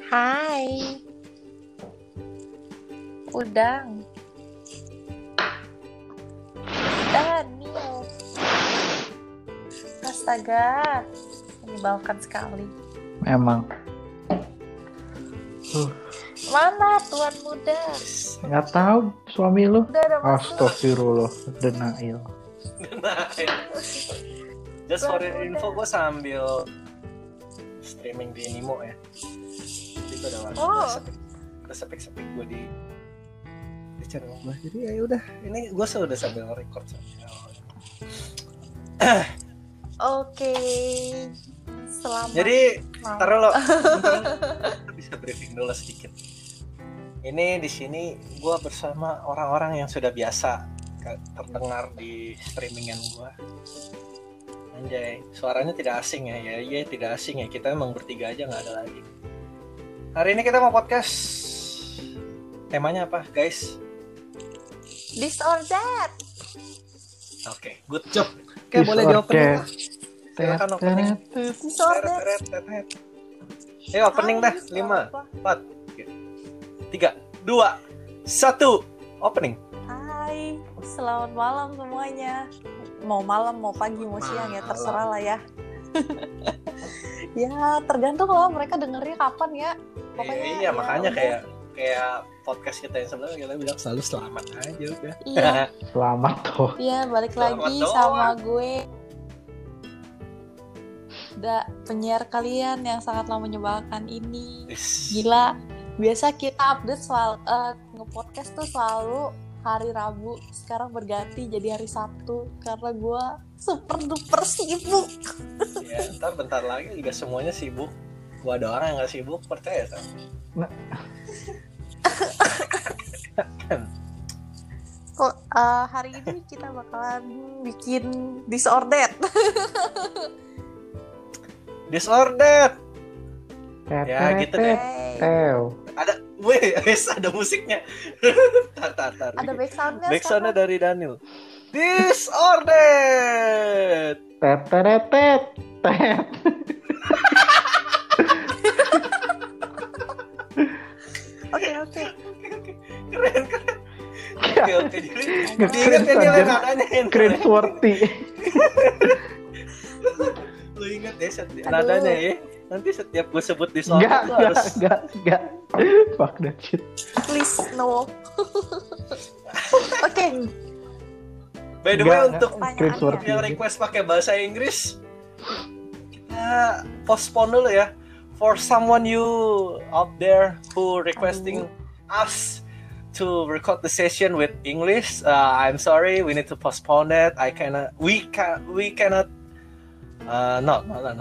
Hai, Udang, Daniel. Astaga, menyebalkan sekali. Memang. Mana tuan muda? Nggak tahu suami lu. Udah ada masuk. Astagfirullah, denial. Just for your info, gue sambil streaming di Nimo ya. Jadi gue udah sepik gue di channel gue. Jadi ya udah, ini gue sudah sambil record sambil. Oke. Selamat. Jadi malam. taruh lo, kita bisa briefing dulu sedikit. Ini di sini gue bersama orang-orang yang sudah biasa terdengar di streamingan gue. Anjay, suaranya tidak asing ya. Ya tidak asing ya. Kita emang bertiga aja, nggak ada lagi. Hari ini kita mau podcast. Temanya apa, guys? This or that. Oke, good job. Oke, boleh di opening. Silakan opening. This or that. Ayo opening dah. 5, 4, 3, 2, 1. Opening. Hai, selamat malam semuanya. Mau malam, mau pagi, mau siang ya terserah lah ya. Ya tergantung lah mereka dengernya kapan ya. Pokoknya iya, makanya udah. kayak podcast kita yang sebelumnya kita bilang selalu selamat aja udah. Iya. Selamat toh. Iya, balik Selamat lagi doang. sama gue. Penyiar kalian yang sangatlah menyebalkan ini. Gila. Biasa kita update soal nge-podcast tuh selalu hari Rabu. Sekarang berganti jadi hari Sabtu karena gue super duper sibuk. Ya, ntar bentar lagi juga semuanya sibuk. Gua ada orang yang gak sibuk, percaya sama. Kok hari ini kita bakalan bikin disordered. Disordered. Ya, gitu deh. Ada musiknya. tar. Ada backsoundnya. Backsoundnya dari Daniel. Disordered. Tet. Oke. Keren. Oke. Jadi diingat ya nilai nadanya. Cringe-worthy. Lu ingat ya nadanya ya. Nanti setiap gue sebut disordered harus. Enggak. Fuck that shit. Please no. Oke. By the way, Enggak. untuk Cringe-worthy. yang request pakai bahasa Inggris, kita postpone dulu ya. For someone you out there who requesting us to record the session with English, I'm sorry, we need to postpone it. We cannot. No.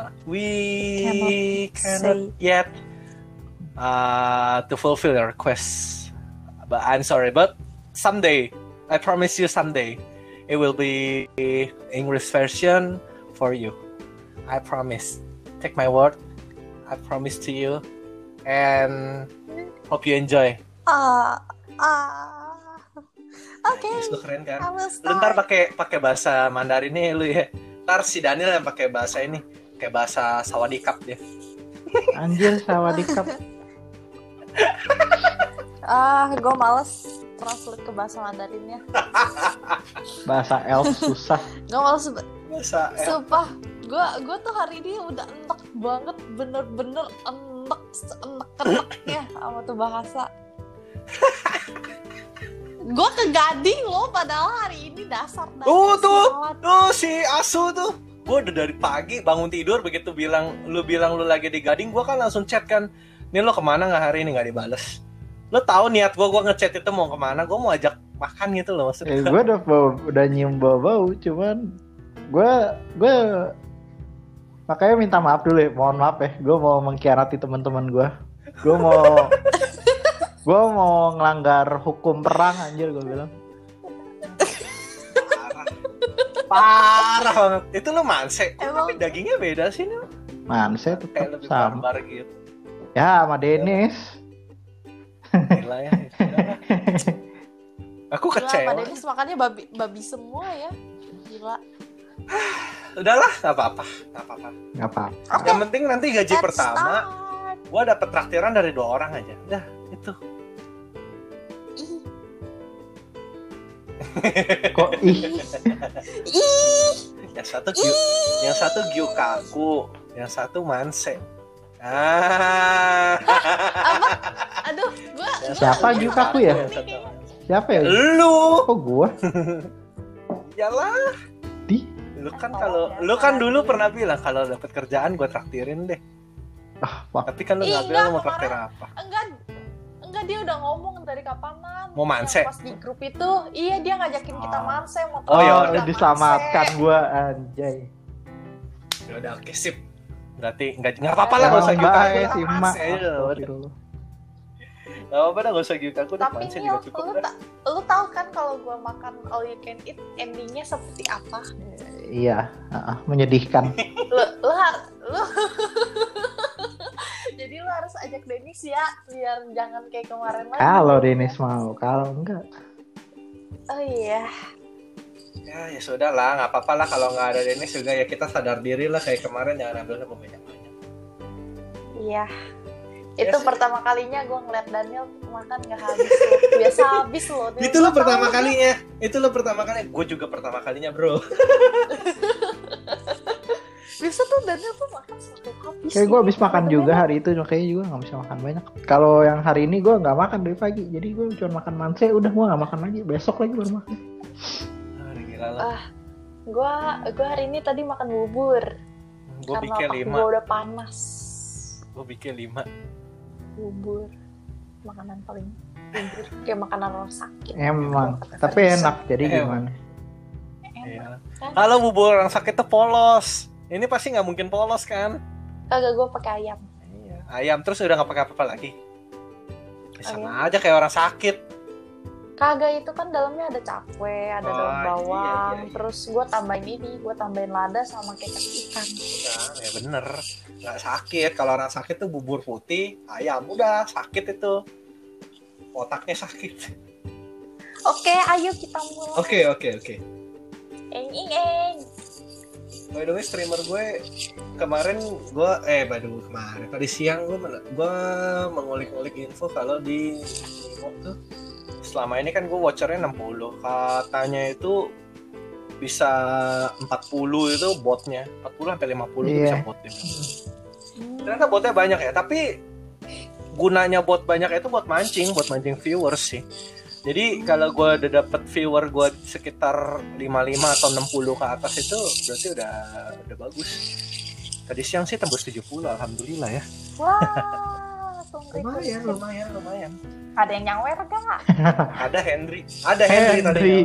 We cannot yet to fulfill your requests. But I'm sorry. But someday, I promise you, someday it will be English version for you. I promise. Take my word. I promise to you, and hope you enjoy. Oke. Lu keren kan? I will Lu ntar pakai bahasa Mandarin nih lu ya. Ntar si Daniel yang pakai bahasa ini, kayak bahasa Sawadikap dia. Anjir, sawadikap. Gue males translate ke bahasa Mandarinnya. Bahasa elf susah. Gue males. Bahasa Sumpah, gue tuh hari ini udah enek banget, bener-bener enek-eneknya sama tuh bahasa. Gue ke Gading loh, padahal hari ini dasar. Tuh si Asu tuh. Gue udah dari pagi bangun tidur begitu lu bilang lu lagi di Gading, gue kan langsung chat kan. Nih lo kemana nggak hari ini, nggak dibales. Lo tahu niat gue ngechat itu mau kemana? Gue mau ajak makan gitu loh maksudnya. Gue udah nyium bau, cuman gue makanya minta maaf dulu ya, mohon maaf ya. Gue mau mengkhianati teman-teman gue. Gue mau ngelanggar hukum perang, anjir gue bilang. Parah banget. Itu lo manse. Emang Tapi dagingnya beda sih nih. Manse Kayak tetap lebih sama. barbar gitu. Ya, sama Dennis. Gila ya. Aku gila, kecewa. Pak Dennis makannya babi semua ya. Gila. Udahlah, nggak apa-apa. Nggak apa. Yang penting nanti gaji Let's pertama. start. Gue dapet traktiran dari 2 orang aja. Udah, itu. Kok ih? Yang satu Gyukaku, yang satu Manse. Ah. Apa? Aduh, gua Siapa Gyukaku ya? Siapa ya? Lu. Kok gua? Yalah. Lu kan dulu pernah bilang kalau dapet kerjaan gue traktirin deh. Tapi kan lu nggak bilang lu mau traktir apa? Enggak, dia udah ngomong dari kapanan. Mau manse? Pas di grup itu, iya dia ngajakin kita manse. Oh ya udah diselamatkan gue anjay. Ya udah oke sip. Berarti nggak apa-apa lah, nggak usah Gyukaku si Mak. Gak apa-apa dah, gak usah Gyukaku. Tapi Nil, lu tahu kan kalau gue makan all you can eat endingnya seperti apa? Iya, menyedihkan. Lu jadi lu harus ajak Dennis ya, biar jangan kayak kemarin lagi. Kalau Dennis mau, kalau enggak. Oh iya. Ya sudah lah, nggak apa-apa lah kalau nggak ada Dennis juga ya, kita sadar diri lah kayak kemarin, jangan ambil banyak-banyak. Iya. Itu pertama kalinya gue ngeliat Daniel makan nggak habis loh. Biasa habis loh. Itu lo pertama kalinya. Gue juga pertama kalinya bro. Biasa tuh Daniel tuh makan satu habis. Kayak gue habis makan juga hari itu, makanya juga nggak bisa makan banyak. Kalau yang hari ini gue nggak makan dari pagi, jadi gue cuma makan manse, udah gue nggak makan lagi. Besok lagi baru makan. Gue hari ini tadi makan bubur. Gue bikin 5. Gue udah panas. Gue bikin 5. Bubur, makanan paling bubur kayak makanan orang sakit. Emang, tapi enak. Jadi gimana? Iya. Kalau bubur orang sakit tuh polos. Ini pasti nggak mungkin polos kan? Kagak, gue pakai ayam. Iya. Ayam terus udah nggak pakai apa-apa lagi. Sama aja kayak orang sakit. Kagak, itu kan dalamnya ada cakwe, ada daun bawang, iya. Terus gue tambahin lada sama kecap ikan. Udah, ya bener, nggak sakit. Kalau orang sakit tuh bubur putih, ayam udah sakit itu, otaknya sakit. Oke, ayo kita mulai. Oke. Eng. By the way, streamer gue kemarin tadi siang gue mengulik-ulik info kalau di Nimo tuh selama ini kan gue watchernya 60, katanya itu bisa 40 itu botnya, 40 sampai 50 itu bisa botnya. Ternyata botnya banyak ya, tapi gunanya bot banyak itu buat mancing viewers sih. Jadi kalau gue udah dapet viewer gue sekitar 55 atau 60 ke atas itu berarti udah bagus. Tadi siang sih tembus 70, alhamdulillah ya. Wah, lumayan. Ada yang nyawer gak? Ada Henry tadi.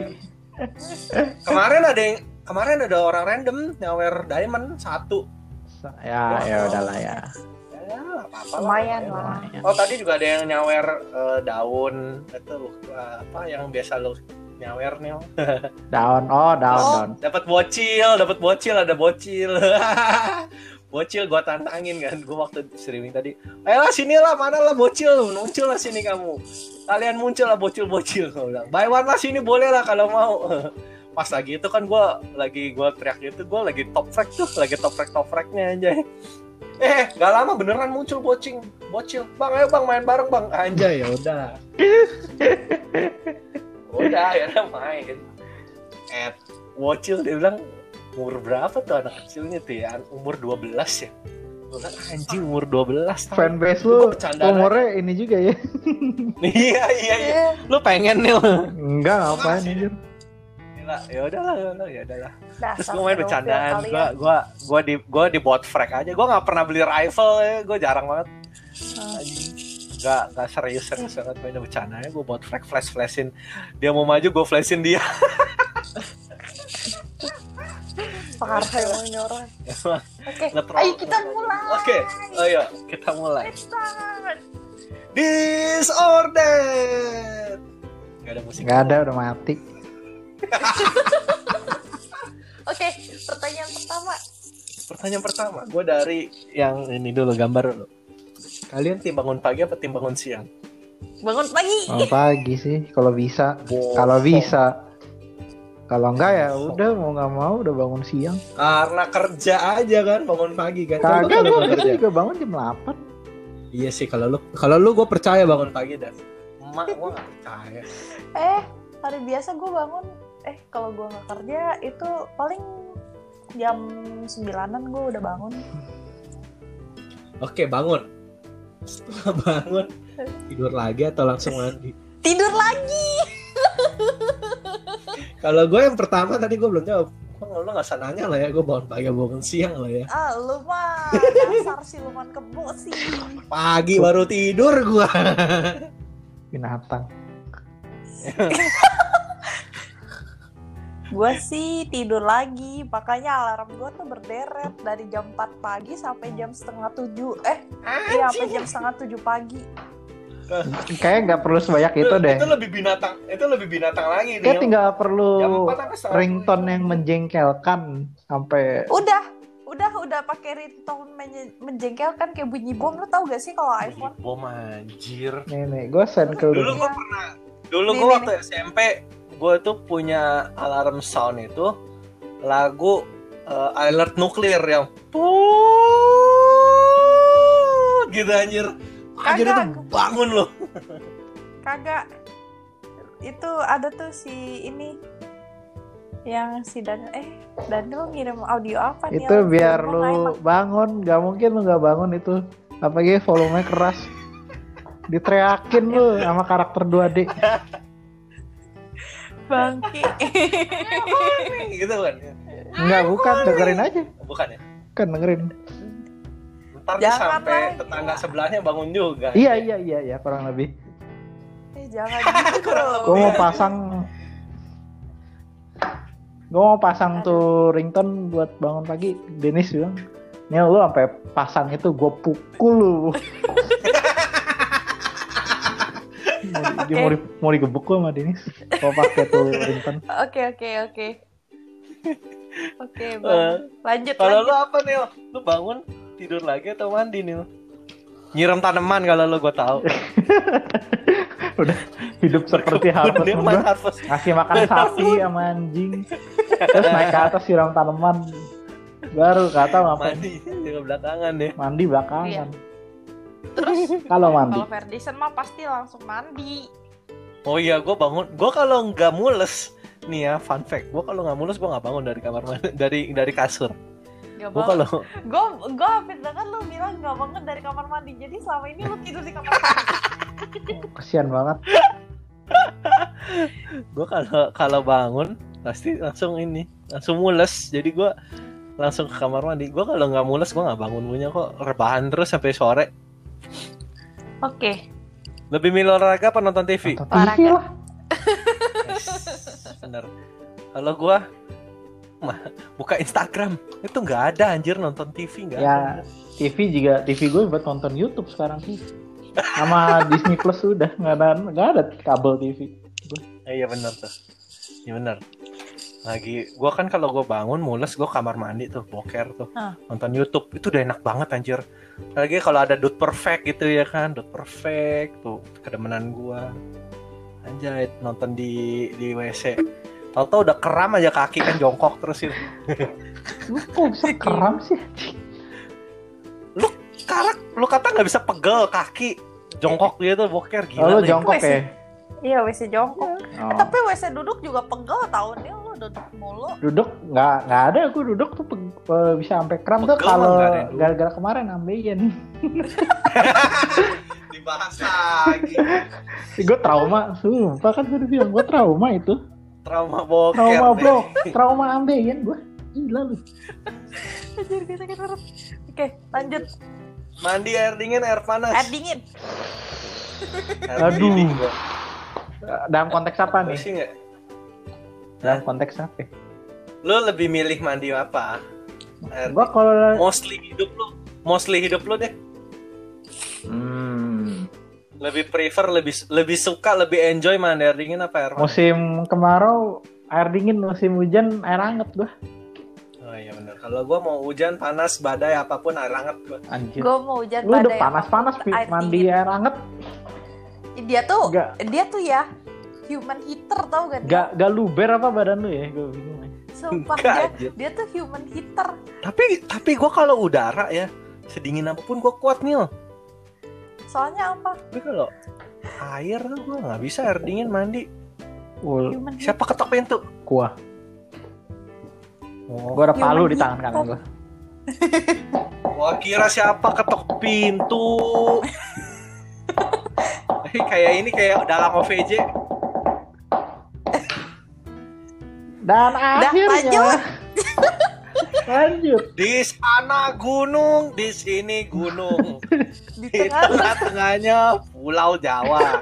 Kemarin ada orang random nyawer diamond 1. Ya udahlah ya. Lumayan lah. Oh, tadi juga ada yang nyawer daun itu apa yang biasa lo nyawer nih. Daun. Dapat bocil, ada bocil. Bocil gua tantangin kan, gua waktu streaming tadi. Ayolah sinilah, mana lah bocil, muncul lah sini kamu. Kalian muncul lah bocil, gua bilang. Buy one lah sini boleh lah kalau mau. Pas lagi itu kan gua teriak gitu, gua lagi top frag-nya anjay. Gak lama beneran muncul bocil. Bang, ayo bang main bareng bang. Anjay, ya udah. Akhirnya main. Bocil dia bilang umur berapa tuh anak kecilnya tuh ya? Umur 12 ya. Gue bilang anjing umur 12. Fanbase lu umurnya ini juga ya. Iya. Lu pengen nih? Enggak, ngapain anjir. Ya udahlah. Terus gue main bercandaan, gue di bot frag aja. Gue nggak pernah beli rifle ya, gue jarang banget. Nggak serius banget main bercandanya. Gue bot frag, flashin. Dia mau maju, gue flashin dia. Parah emang ini orang. Oke, ayo kita mulai. Let's start. Disordered. Gak ada musik. Gak ada, udah mati. Oke, pertanyaan pertama. Gue dari yang ini dulu, gambar dulu. Kalian tim bangun pagi apa tim bangun siang? Bangun pagi. Bangun pagi sih, kalau bisa. Kalau bisa. Kalau enggak ya udah mau nggak mau udah bangun siang. Karena kerja aja kan bangun pagi kan. Kagak, gue juga bangun jam 8. Iya sih, kalau lu gue percaya bangun pagi dan emak gue nggak percaya. Hari biasa gue bangun, kalau gue nggak kerja itu paling jam 9-an gue udah bangun. Oke, bangun. Setelah bangun tidur lagi atau langsung mandi? Tidur lagi. Kalau gue yang pertama tadi gue belum jawab. Lu nggak usah nanya lah ya, gue bangun pagi bangun siang lah ya. Lu mah dasar siluman kebo sih. Pagi baru tidur gue. Binatang. Gue sih tidur lagi, makanya alarm gue tuh berderet dari jam 4 pagi sampai jam 6:30. Sampai jam 6:30 pagi. Kayaknya nggak perlu sebanyak itu deh. Itu lebih binatang lagi. Kayak tinggal perlu Jam 4 ringtone yang menjengkelkan sampai. Udah pakai ringtone menjengkelkan kayak bunyi bom. Lo tau gak sih kalau iPhone? Bom anjir. Nih, gue send ke lu. Dulu gue waktu SMP gue tuh punya alarm sound itu lagu alert nuklir yang gitu anjir. Anjir itu bangun loh. Kagak. Itu ada tuh si ini yang si Daniel ngirim audio apa nih? Itu biar lu bangun, gak mungkin lu gak bangun itu. Apalagi volumenya keras. Diteriakin lu sama karakter 2D. Bangki. Gitu kan? Enggak, bukan, dengerin aja. Bukan ya? Kan dengerin. Ntar sampai tetangga sebelahnya bangun juga. Iya, kurang lebih. Jangan gitu. Gue mau pasang tuh ringtone buat bangun pagi. Dennis bilang, nih lu sampai pasang itu gue pukul lu. Dia mau digebuk gue sama Dennis. Mau pakai tuh ringtone. Oke, Bang. Lanjut. Kalau lu apa nih? Lu bangun tidur lagi atau mandi nih? Nyiram tanaman kalau lu gue tahu. Udah hidup seperti harvest. Ngasih makan sapi sama anjing. Terus naik ke atas siram tanaman. Baru kata ngapain? Mandi juga belakangan deh. Mandi belakangan. Iya. Terus kalau mandi. Kalau Ferdinand mah pasti langsung mandi. Oh iya, gue bangun. Gue kalau nggak mules, nih ya fun fact. Gue kalau nggak mules gue nggak bangun dari kamar mandi, dari kasur. Gue hampir dengar lu bilang nggak bangun dari kamar mandi. Jadi selama ini lu tidur di kamar mandi. Kasian banget. Gue kalau bangun pasti langsung mules. Jadi gue langsung ke kamar mandi. Gue kalau nggak mules gue nggak bangun, punya kok rebahan terus sampai sore. Oke. Lebih milih olahraga apa nonton TV? Nonton TV lah. Bener. Kalau gue buka Instagram itu nggak ada anjir, nonton TV nggak ada. TV gue buat nonton YouTube sekarang sih. Sama Disney Plus udah nggak ada kabel TV. Iya benar tuh. Iya benar. Lagi gue kan kalau gue bangun mules gue kamar mandi tuh boker tuh nonton YouTube itu udah enak banget anjir. Lagi kalau ada Dude Perfect gitu ya kan, Dude Perfect tuh kedemenan gue. Anjay nonton di WC. Tahu-tahu udah keram aja kaki kan jongkok terus itu. Lu kok bisa keram sih? Lu kata nggak bisa pegel kaki jongkok gitu boker gila. Oh, lu jongkok ya? Iya WC jongkok. Tapi WC duduk juga pegel tau nih, lu duduk mulu. Duduk nggak ada, aku duduk tuh bisa sampai kram pegel tuh kalau gara-gara kemarin ambeien. Dibahas lagi. Gue trauma, sumpah kan gue bilang gue trauma itu. Trauma boker. Trauma ambeien gue. Gila lu. Oke, lanjut. Mandi air dingin, air panas. Air dingin. Aduh. Dalam konteks apa nih? Nggak? Dalam konteks apa? Lu lebih milih mandi apa? Gua kalau mostly hidup lu deh. Lebih prefer, lebih suka, lebih enjoy mandi air dingin apa air panas? Musim kemarau air dingin, musim hujan air hangat gua. Oh iya benar. Kalau gua mau hujan, panas, badai apapun air hangat gua. Anjir. Gua mau hujan lu badai. Lu udah panas-panas mandi air hangat. Dia tuh ya human heater tau gak? Gak luber apa badan lu ya? Gue bingung. Sumpah dia tuh human heater. Tapi gue kalau udara ya sedingin apapun gue kuat nih. Soalnya apa? Tapi kalau air tuh gue nggak bisa air dingin mandi. Gimana? Siapa ketok pintu? Gua. Oh. Gua ada palu di tangan kanan gua. Gua kira siapa ketok pintu. Kayak ini kayak dalam OVJ. Dan akhirnya lanjut. Di sana gunung, di sini gunung. Di tengah-tengahnya Pulau Jawa.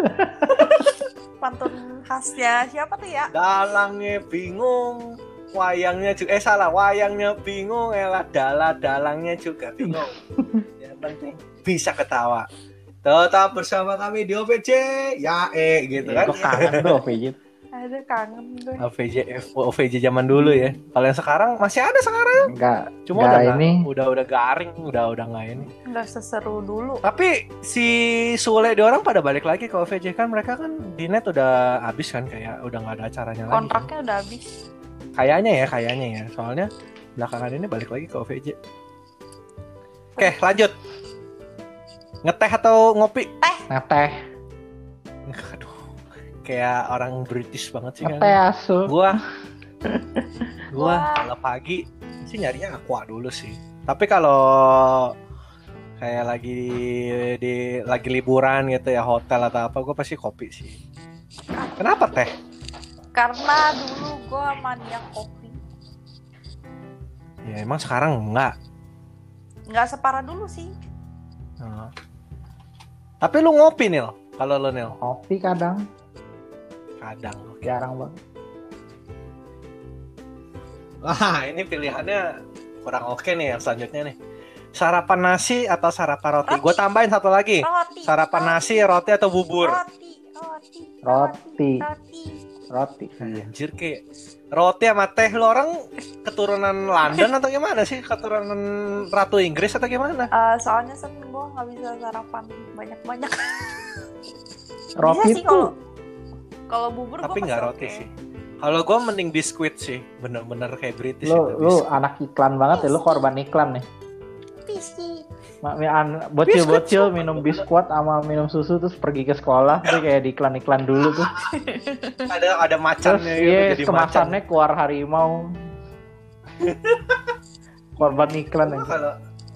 Pantun khasnya siapa tuh ya? Dalangnya bingung, wayangnya juga wayangnya bingung, dalangnya juga bingung. Yang penting bisa ketawa. Tetap bersama kami di OVJ, gitu kan. Kok kangen tuh OVJ. Ada kangen gue. OVJ zaman dulu ya. Kalau yang sekarang masih ada sekarang. Enggak. Cuma udah garing, udah nggak ini. Nggak seseru dulu. Tapi si Sule di orang pada balik lagi ke OVJ kan, mereka kan di net udah habis kan, kayak udah nggak ada acaranya lagi. Kontraknya udah habis. Kayaknya ya. Soalnya belakangan ini balik lagi ke OVJ. Oke, lanjut. Ngeteh atau ngopi? Ngeteh. Aduh, kayak orang British banget sih kan. Ngeteh asu. Gua kalau pagi sih nyarinya aqua dulu sih. Tapi kalau kayak lagi liburan gitu ya, hotel atau apa, gue pasti kopi sih. Kenapa teh? Karena dulu gue maniak kopi. Ya emang sekarang enggak. Nggak separah dulu sih. Tapi lu ngopi Nil? Kalau lu Nil? Kopi kadang. Jarang banget. Wah, ini pilihannya kurang oke nih yang selanjutnya nih. Sarapan nasi atau sarapan roti? Gue tambahin satu lagi. Roti. Sarapan nasi, roti atau bubur? Roti. Anjir, kayak roti sama teh. Lu orang keturunan London atau gimana sih? Keturunan Ratu Inggris atau gimana? Soalnya gue nggak bisa sarapan banyak-banyak. Roti bisa sih tuh. Kalau bubur tapi gue nggak roti sih. Kalau gue mending biskuit sih, bener-bener kayak British lu, itu. Lu anak iklan banget ya, lu korban iklan nih. Biskuit. Bocil-bocil minum biskuit sama minum susu terus pergi ke sekolah, tuh kayak di iklan-iklan dulu tuh. Ada macannya gitu, jadi kemasannya macan. Keluar harimau. Korban iklan aja.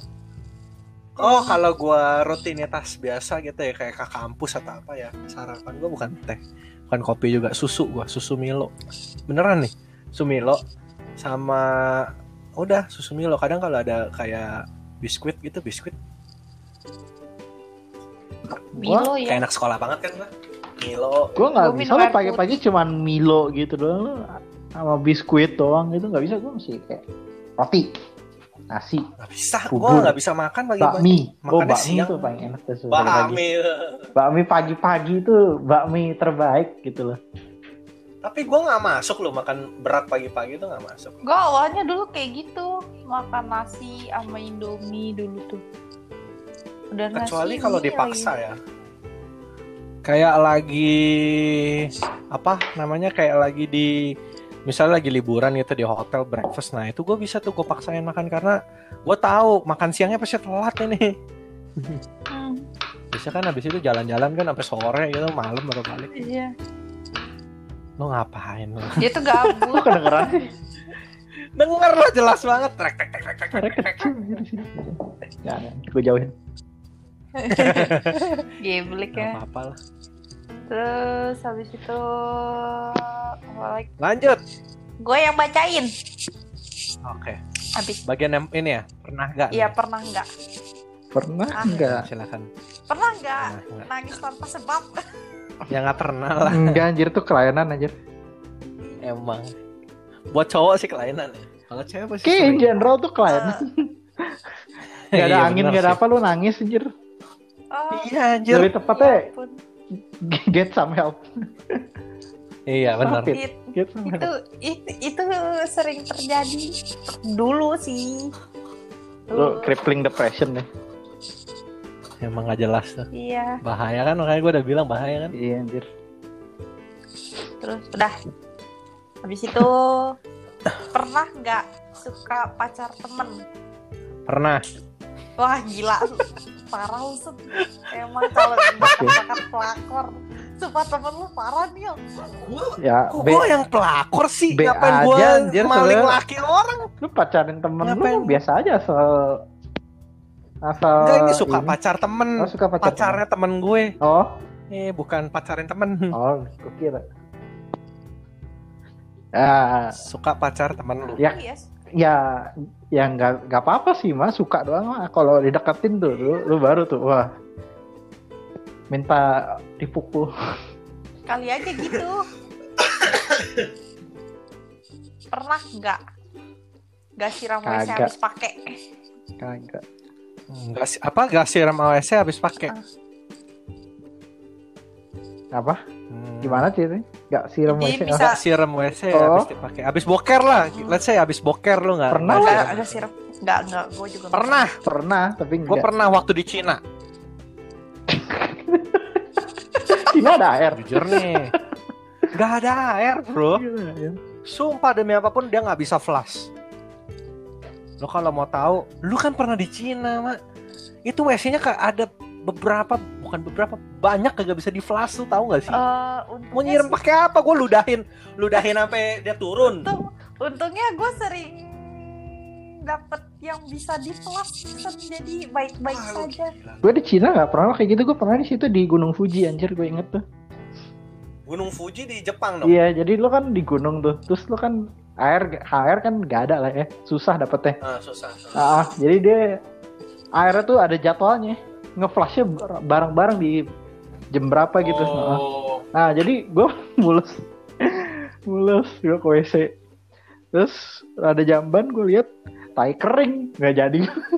Kalau gue rutinitas biasa gitu ya, kayak ke kampus atau apa ya, sarapan gue bukan teh, bukan kopi juga, susu Milo. Beneran nih, susu Milo sama udah susu Milo. Kadang kalau ada kayak biskuit Milo ya. Kayak anak sekolah banget kan gue. Milo. Gue nggak bisa lah pagi-pagi cuman Milo gitu doang, sama biskuit doang gitu nggak bisa. Gue mesti kayak roti, nasi. Nggak bisa. Gue nggak bisa makan pagi-pagi. Bakmi siang itu paling enak tuh. Bakmi pagi-pagi itu bakmi terbaik gitu loh. Tapi gue nggak masuk loh, makan berat pagi-pagi itu nggak masuk. Gue awalnya dulu kayak gitu, makan nasi sama Indomie dulu tuh. Udah kecuali kalau dipaksa lagi. Ya. Kayak lagi kayak lagi misalnya lagi liburan gitu di hotel breakfast, nah itu gue bisa tuh gue paksain makan karena gue tahu makan siangnya pasti telat ini. Bisa kan habis itu jalan-jalan kan sampai sore gitu, malam baru balik. Iya. Lo ngapain lo? Dia tuh gabut. Lo kedengeran? Denger lo jelas banget. Trek. Jangan, gue jauhin. Geblek ya. Gak apa-apa lah. Terus habis itu apa lagi? Lanjut. Gue yang bacain. Oke. Habis. Bagian yang ini ya, pernah nggak? Iya, pernah nggak? Pernah nggak? Silakan. Pernah nggak? Nangis tanpa sebab? Ya nggak pernah lah. Enggak anjir, tuh kelainan anjir. Emang. Buat cowok sih kelainan ya. Kalau cewek pasti kayak in general tuh kelainan. Gak ada angin, gak ada apa, lu nangis anjir. Iya anjir. Lebih tepatnya get some help. Iya benar. Itu sering terjadi dulu sih. Lu crippling depression deh. Emang gak jelas tuh. Iya. Bahaya kan, makanya gue udah bilang bahaya kan. Iya anjir. Terus udah. Habis itu pernah nggak suka pacar temen? Pernah. Wah gila. parah lu Sep. Emang kalau bakat pelakor. Sumpah temen lu parah nih. Ya, Gue yang pelakor sih. B Ngapain gue maling laki orang? Lu pacarin temen lu biasa aja asal enggak, ini suka pacar temen. Oh, suka pacarnya temen gue. Oh. Bukan pacarin temen. Oh, gue kira. Suka pacar temen lu. Ya nggak apa-apa sih mas, suka doang mah. Kalau dideketin tuh, lu baru tuh wah minta dipukul. Kali aja gitu. Pernah nggak siram WC habis pakai? Kagak. Nggak siram WC habis pakai? Apa? Gimana sih ini? Nggak siram WC? Nggak siram WC habis dipakai. Habis boker lah. Let's say habis boker lu nggak? Pernah nggak siram? Nggak. Gue juga pernah. Tapi gue pernah waktu di Cina. Cina ada air. Jujur nih, nggak ada air bro. Sumpah demi apapun dia nggak bisa flush. Lo kalau mau tahu, lu kan pernah di Cina mak. Itu WC-nya kayak ada banyak kagak bisa di flush, tuh tahu nggak sih? Mau nyiram pakai apa? Gue ludahin sampai dia turun. Untungnya gue sering dapet yang bisa di flash, jadi baik-baik saja. Gue di Cina nggak pernah kayak gitu. Gue pernah di situ di Gunung Fuji, anjir gue inget tuh. Gunung Fuji di Jepang dong? Iya, jadi lo kan di gunung tuh, terus lo kan air kan nggak ada lah ya, susah dapetnya. Susah. Jadi dia airnya tuh ada jadwalnya, ngeflashnya bareng-bareng di jam berapa gitu. Nah jadi gue mulus gue ke WC, terus ada jamban gue lihat tai kering, nggak jadi.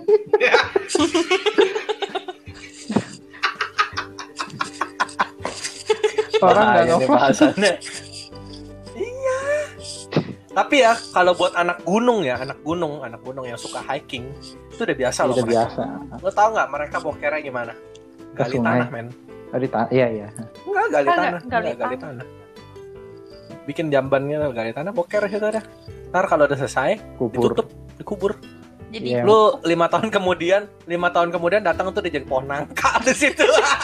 Orang nggak ngeflash. Iya. Tapi ya kalau buat anak gunung yang suka hiking itu udah biasa loh. Udah biasa. Lo tau nggak mereka bokernya gimana? Gali tanah men. Gali tanah, iya. Enggak gali tanah. Bikin jambannya gali tanah, boker situ ada. Ntar kalau udah selesai ditutup, dikubur. Jadi lu 5 tahun kemudian datang tuh dia jadi pohon nangka di situ.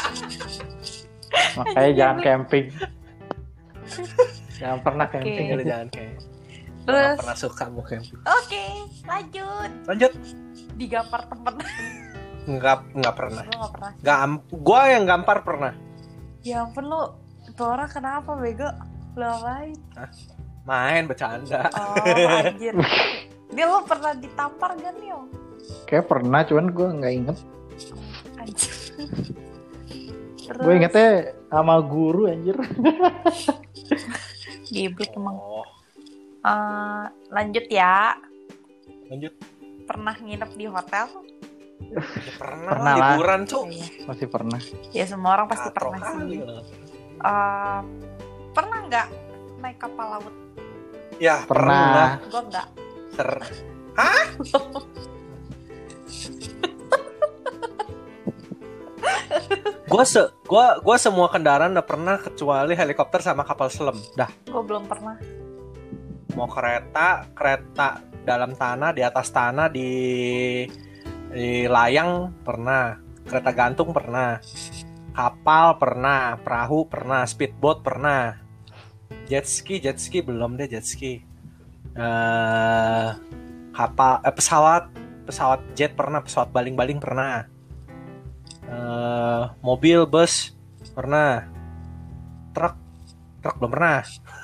Makanya jangan camping. Jangan pernah camping. Jangan camping. Terus pernah suka mau camping. Oke, lanjut. Digampar temen. Enggak pernah. Gue nggak pernah. Gua yang gampar pernah. Ya ampun lu, itu orang kenapa bego? Lu apain? Main bercanda. Oh anjir. Dia lu pernah ditampar gak nih? Kayak pernah, cuman gue nggak inget. Anjir. Gue ingetnya sama guru anjir. Geblek emang. Lanjut ya. Lanjut. Pernah nginep di hotel? Ya, pernah liburan tuh. Masih pernah. Ya semua orang pasti pernah sih. Pernah nggak naik kapal laut? Ya pernah. Gue nggak. Hah? Gue semua kendaraan udah pernah kecuali helikopter sama kapal selam. Dah. Gue belum pernah. Mau kereta dalam tanah, di atas tanah, di layang pernah, kereta gantung pernah, kapal pernah, perahu pernah, speedboat pernah, jet ski belum deh jet ski. Pesawat jet pernah, pesawat baling-baling pernah. Mobil, bus pernah. Truk belum pernah.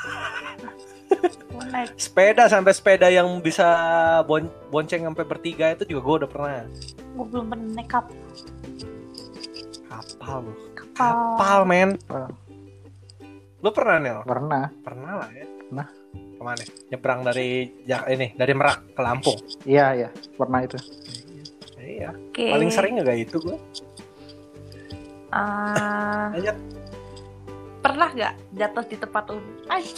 Sepeda yang bisa bonceng sampai bertiga itu juga gue udah pernah. Gue belum pernah naik kapal. Kapal men. Lu pernah Nel? Pernah lah ya. Nah, kemana? Nyebrang dari Merak ke Lampung. Iya pernah itu. Iya. Okay. Paling sering nggak itu gue? Lanjut. Pernah nggak jatuh di tempat umum?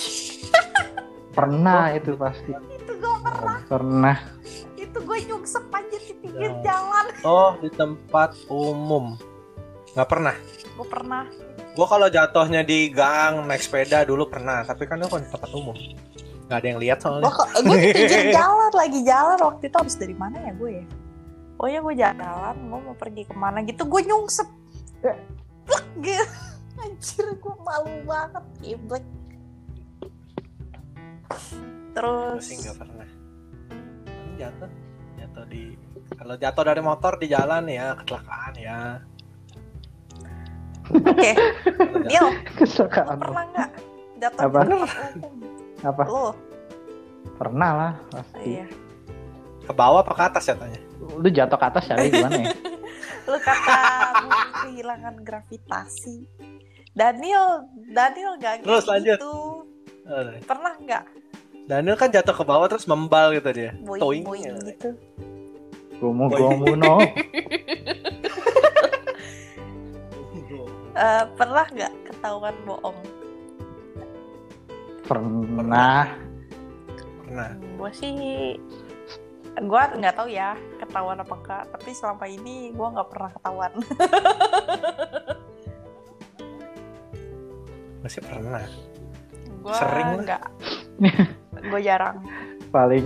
Pernah itu pasti. Itu gue pernah. Itu gue nyungsep aja di pinggir jalan. Oh, di tempat umum. Nggak pernah. Gue pernah. Gue kalau jatuhnya di gang naik sepeda dulu pernah, tapi kan itu kan di tempat umum. Nggak ada yang lihat soalnya. Gue di pinggir jalan, lagi jalan waktu itu. Habis dari mana ya gue ya? oh ya gue jalan, gue mau pergi kemana gitu, gue nyungsep plek gitu. Anjir, gue malu banget, geblek. Terus sih nggak pernah jatuh di, kalau jatuh dari motor di jalan ya kecelakaan ya. Oke, Neil, lo Kecelakaan. pernah nggak jatuh Apa? di tempat umum? Apa? Lo? Pernah lah pasti. Iya. Ke bawah apa ke atas jatuhnya? Lu jatuh ke atas caranya gimana ya? Lu kata bumi kehilangan gravitasi. Daniel gak Terus lanjut. gitu. Pernah nggak Daniel kan jatuh ke bawah terus membal gitu dia. boing gitu? Gomu no. Pernah nggak ketahuan bohong? Pernah. Gue nggak tahu ya ketahuan apa enggak, tapi selama ini gue nggak pernah ketahuan. Masih pernah. Gue Sering lah. nggak. Gue jarang. Paling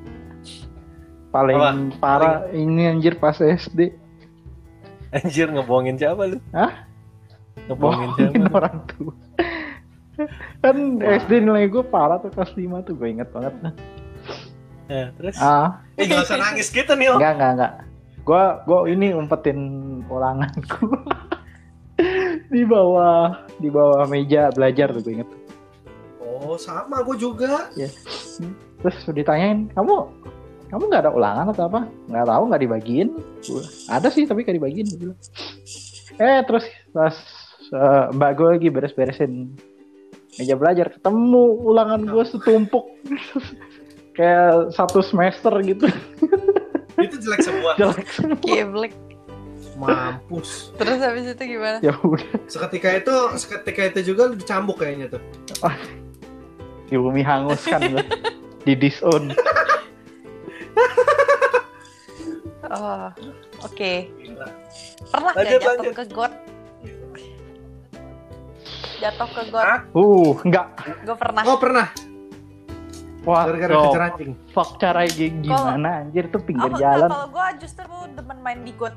Apa? parah ini anjir pas SD. Anjir, ngebohongin siapa lu? Hah? Ngebohongin Bohongin siapa? orang tua. Kan SD nilai gue parah tuh kelas 5 tuh, gue inget banget. Terus? Gak usah nangis gitu nih. Enggak. Gue ini umpetin ulanganku. di bawah meja belajar tuh, gue inget. Oh, sama gue juga. Ya. Terus ditanyain, kamu nggak ada ulangan atau apa? Nggak tahu, nggak dibagiin. Ada sih tapi nggak dibagiin. Terus pas mbak gue lagi beres-beresin meja belajar, ketemu ulangan gue setumpuk. Kayak 1 semester gitu. Itu jelek semua. Geblek. Mampus. Terus habis itu gimana? Ya udah. Seketika itu juga lu dicambuk kayaknya tuh. Di bumi hangus kan gue. Di disown. Oh, oke. Gila. Pernah nggak Lanjut. jatuh ke got? Jatuh ke got? Hah? Enggak. Gue pernah. Oh, pernah. Wah, Gara-gara kejar anjing. fuck, cara gimana anjir tuh pinggir jalan. Kalau gue justru demen main di got.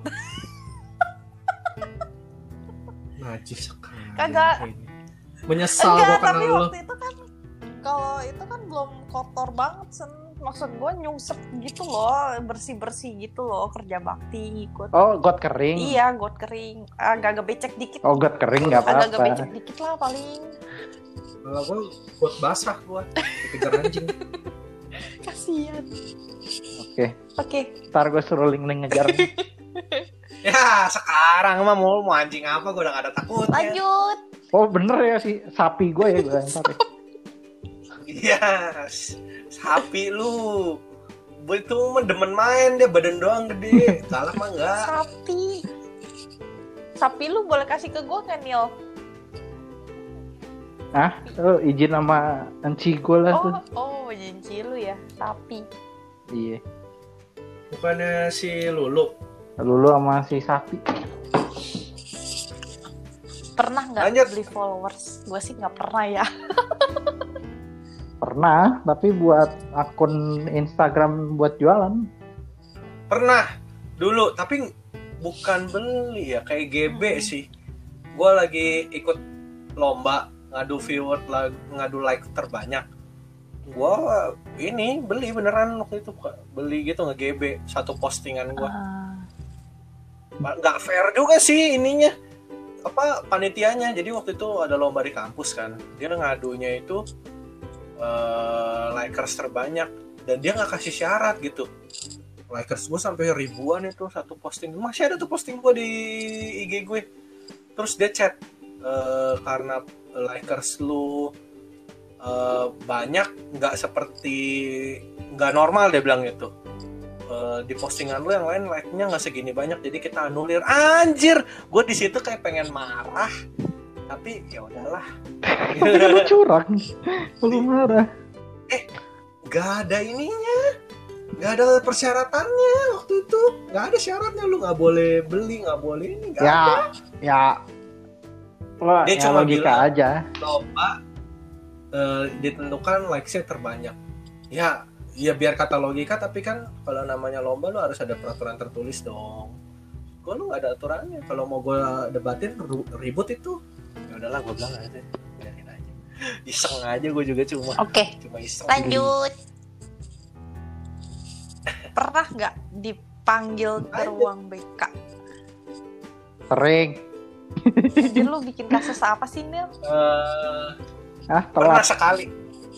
Najis sekali. Kagak. Menyesal Enggak, gua tapi karena lu. waktu itu kan kalau itu kan belum kotor banget, maksud gue nyungsep gitu loh, bersih gitu loh, kerja bakti ikut. Oh, got kering. Iya, got kering, agak becek dikit. Oh, got kering nggak Agak apa-apa. becek dikit lah paling. Kalau gua buat basah gua dikejar anjing. Kasian. Oke. Ntar gue suruh Ling ngejar. Ya, sekarang mah mau anjing apa gua udah gak ada takutnya. Lanjut. Oh bener ya si sapi gue ya gue ntar. Iya, sapi lu. Gue itu demen main, dia badan doang gede. Salah mah enggak. Sapi lu boleh kasih ke gue kan, Neil? Izin sama enci gue lah tuh. Oh, janji lu ya, sapi. Iya. Bukannya si Lulu. Lulu sama si sapi. Pernah nggak Lanjut. beli followers? Gue sih nggak pernah ya. Pernah, tapi buat akun Instagram buat jualan. Pernah dulu, tapi bukan beli ya, kayak GB sih. Gue lagi ikut lomba ngadu viewer, ngadu like terbanyak. Gue ini beli beneran waktu itu, beli gitu nge-GB satu postingan gue. Nggak fair juga sih ininya, apa panitianya. Jadi waktu itu ada lomba di kampus kan, dia ngadunya itu likers terbanyak dan dia nggak kasih syarat gitu. Likers gue sampai ribuan itu satu posting. Masih ada tuh posting gue di IG gue. Terus dia chat, karena likers lu banyak, nggak normal, dia bilang gitu. Di postingan lu yang lain like-nya nggak segini banyak, jadi kita anulir. Anjir, gue di situ kayak pengen marah, tapi ya udahlah. Lu curang, lu marah. Nggak ada ininya, nggak ada persyaratannya waktu itu, nggak ada syaratnya, lu nggak boleh beli, nggak boleh ini, nggak ada. Ya. Wah, Dia ya cuma logika bilang, aja. Lomba ditentukan likes-nya terbanyak. Ya Iya biar kata logika, tapi kan kalau namanya lomba lu harus ada peraturan tertulis dong. Gue lu gak ada aturannya. Kalau mau gue debatin ribut itu, ya udahlah gue bilang aja, biarin aja. Iseng aja gue juga cuma iseng. Lanjut. Pernah nggak dipanggil ke ruang BK? Sering. Jadi lu bikin kasus apa sih, Nil? Pernah sekali.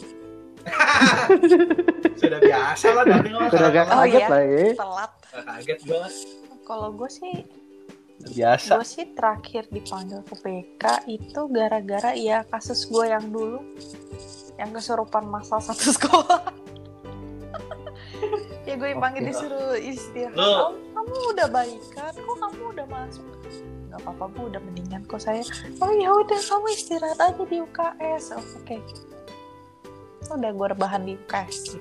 Sudah biasa lah dari orang. Sudah gak kaget lah ya. Telat. Gak kaget gue. Kalau gue sih biasa. Gue sih terakhir dipanggil ke PK itu gara-gara ya kasus gue yang dulu yang kesurupan masal satu sekolah. Ya gue dipanggil disuruh istirahat. Oh, kamu udah baikan, kok kamu udah masuk? Gak apa-apa bu, udah mendingan kok saya. Oh ya udah kamu istirahat aja di UKS. Oh, oke. Udah gue rebahan di UKS.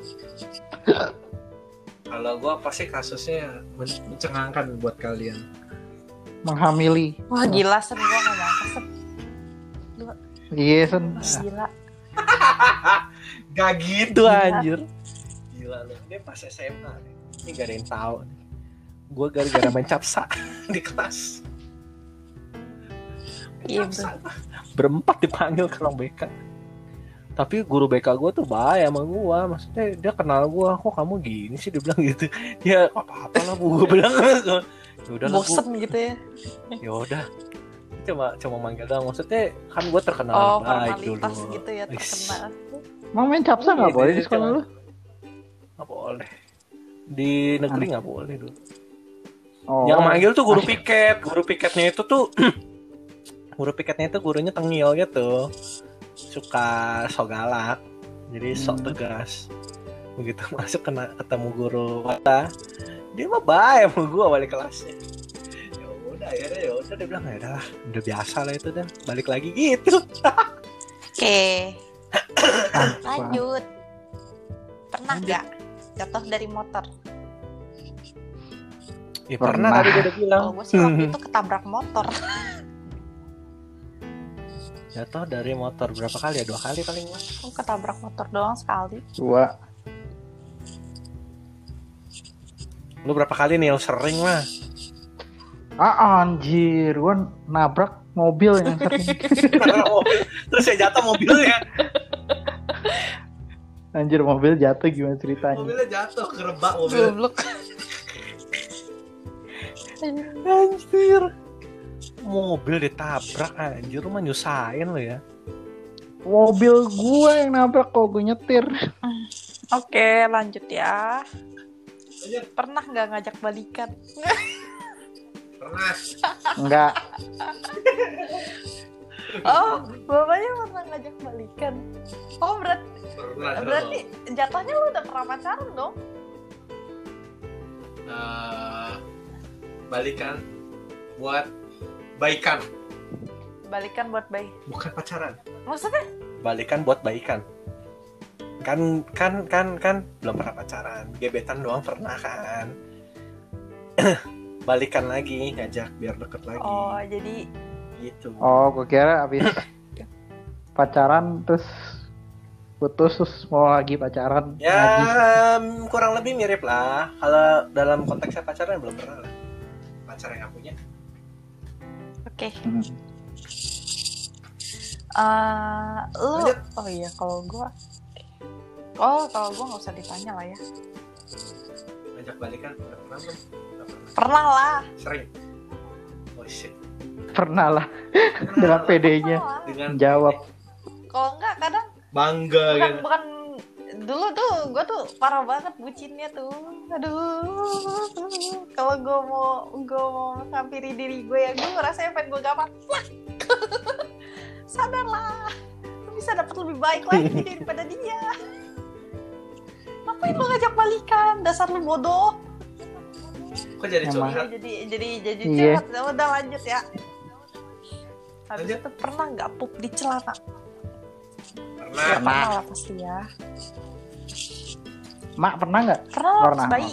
Kalau gue pasti kasusnya mencengangkan buat kalian. Menghamili. Wah gila, Sen, gue gak nyangka, Sen. Iya, Sen. Gila. Gak gitu anjir. Gila lu, dia pas SMA nih. Ini gak ada yang tahu. Gue gara-gara main capsa di kelas. Iya, berempat dipanggil ke ruang BK. Tapi guru BK gue tuh baik sama gue. Maksudnya dia kenal gue. Kok kamu gini sih, dia bilang gitu. Ya apa-apa lah bu, gue bilang. Yaudah bosen lah, gitu ya. Yaudah. Cuma manggil doang. Maksudnya kan gue terkenal baik dulu. Formalitas gitu ya, terkenal. Mau main capsa gak boleh di sekolah lu? Gak boleh. Di negeri gak boleh dulu. Yang manggil tuh guru piket. Guru piketnya itu tuh gurunya tengil gitu. Suka sok galak. Jadi sok tegas. Begitu masuk ketemu guru mata, dia mah baik sama gue balik kelasnya. Ya udah dia bilang ya udah biasa lah itu, dan balik lagi gitu. Oke. Lanjut. Pernah nggak jatuh dari motor? Ya pernah tadi gue udah bilang. Kalau gue sih waktu itu ketabrak motor. Jatuh dari motor berapa kali ya? 2 kali paling lah. Gue ketabrak motor doang sekali. 2. Lu berapa kali nih? Sering lah. Anjir, gue nabrak mobil yang sering. Terus saya jatuh mobilnya. Anjir, mobil jatuh gimana ceritanya? Mobilnya jatuh, kerebak mobil. Anjir. Mobil ditabrak anjir, lu mah nyusahin lo ya. Mobil gue yang nabrak kok, gue nyetir. Oke, lanjut ya. Pernah nggak ngajak balikan? Pernah. Enggak. Oh, bapaknya pernah ngajak balikan. Oh, berarti jatuhnya lu udah pernah pacaran dong? Balikan buat baikan. Balikan buat baik. Bukan pacaran. Maksudnya? Balikan buat baikan. Kan belum pernah pacaran. Gebetan doang pernah kan. Balikan lagi, ngajak biar deket lagi. Oh, jadi gitu. Oh, gue kira abis pacaran terus putus terus mau lagi pacaran. Ya, lagi. Kurang lebih mirip lah. Kalau dalam konteksnya pacaran belum pernah lah. Pacar yang aku punya. Oke. Lu lanjut. Oh iya, kalau gue nggak usah ditanya lah ya. Ngajak balikan udah pernah belum? Pernah lah. Sering. Oh shit. Pernah lah. Dengan PD-nya Dengan jawab. Kalau enggak kadang bangga gitu. bukan dulu tuh gue tuh parah banget bucinnya tuh. Aduh. Kalau gue mau menghampiri diri gue ya, gue ngerasa pengen gue gampang. Sadarlah. Lu bisa dapat lebih baik lagi daripada dia. Ngapain lu ngajak balikan? Dasar lu bodoh. Kok jadi curhat? Jadi curhat. Udah lanjut ya. Habis itu pernah nggak pup di celana? Pernah lah pasti ya. Mak pernah nggak? Pernah lah pas bayi.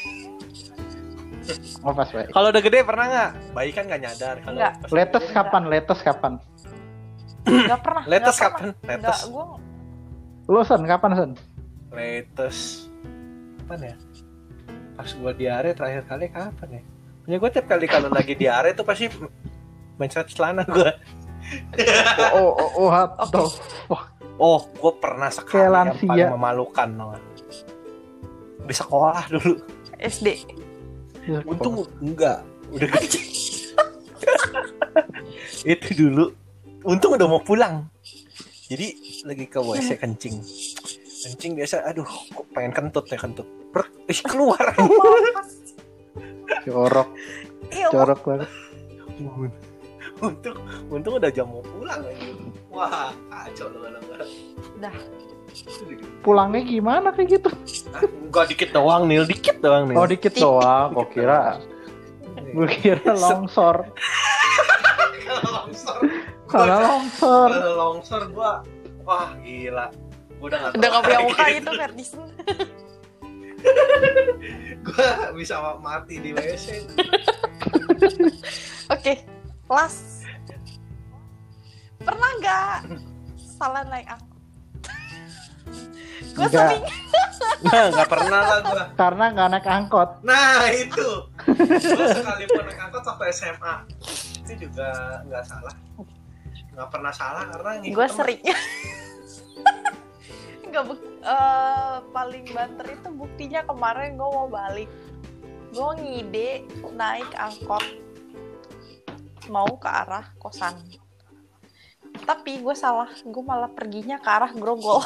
Oh pas bayi. Kalau udah gede pernah nggak? Bayi kan nggak nyadar. Kalau Letes kapan? Nggak pernah. Letes kapan? Nggak, gue. Lu Son, kapan Son? Letes kapan ya? Pas gue diare terakhir kali kapan ya? Punya gue tiap kali kalau lagi diare tuh pasti mencret celana gue. Gue pernah sekali yang paling memalukan, di sekolah dulu. SD. Untung enggak, udah gede. Itu dulu, untung udah mau pulang. Jadi lagi ke WC kencing biasa, aduh, kok pengen kentut. Keluar. Corok banget. Untung udah jam mau pulang aja. Wah, kacau lu. Dah. Pulangnya gimana kayak gitu? Enggak, dikit doang, Nil. Oh, dikit doang. Gue kira longsor. Kalau longsor gua, wah gila. Udah gak punya muka itu Ferdison. Gua bisa mati di WC. Oke, last. Pernah nggak salah naik angkot? Gue sering. Nggak pernah lah gue. Karena nggak naik angkot. Nah itu. Gue sekalipun naik angkot waktu SMA itu juga nggak salah. Nggak pernah salah karena gue sering. Nggak paling banter itu buktinya kemarin gue mau balik. Gue ngide naik angkot mau ke arah kosan. Tapi gue salah, gue malah perginya ke arah Grogol.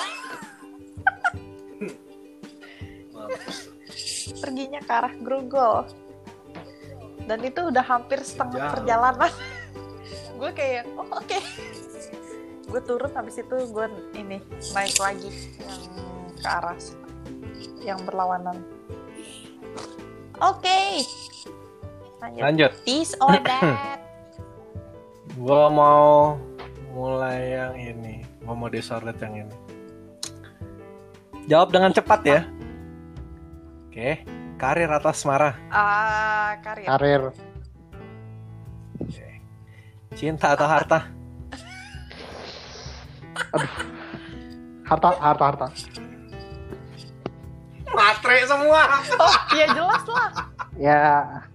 Perginya ke arah Grogol. Dan itu udah hampir setengah perjalanan. Gue kayak, oke. Gue turun, habis itu gue naik lagi yang ke arah yang berlawanan. Oke. Lanjut. This or that. Gue mau mulai yang ini. Gue mau disorot yang ini. Jawab dengan cepat ya. Oke. Karir atau asmara? Karir. Oke. Cinta atau harta? Aduh. Harta. Matre semua. Oh, ya jelas lah. Ya.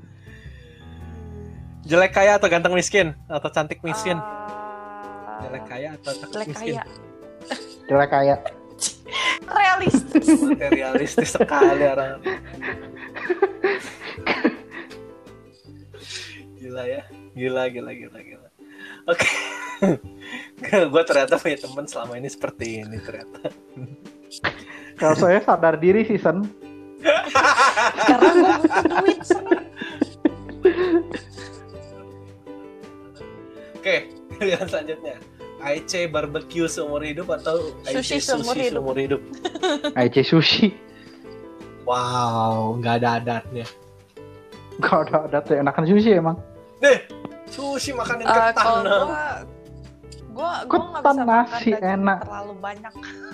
Jelek kaya atau ganteng miskin? Atau cantik miskin? Jelek kaya atau cantik miskin? Jelek kaya. Realistis sekali orang. Gila ya. Gila. Oke. Gue ternyata punya teman selama ini seperti ini ternyata. Kalau saya sadar diri sih, Sen. Karena gue butuh duit, Sen. Oke, pilihan selanjutnya. IC barbecue seumur hidup atau IC sushi seumur hidup? IC sushi. Wow, nggak ada adatnya. Nggak ada adatnya, enakan sushi emang. Sushi makanan ketan. Gue nggak bisa nasi makan enak. Terlalu banyak.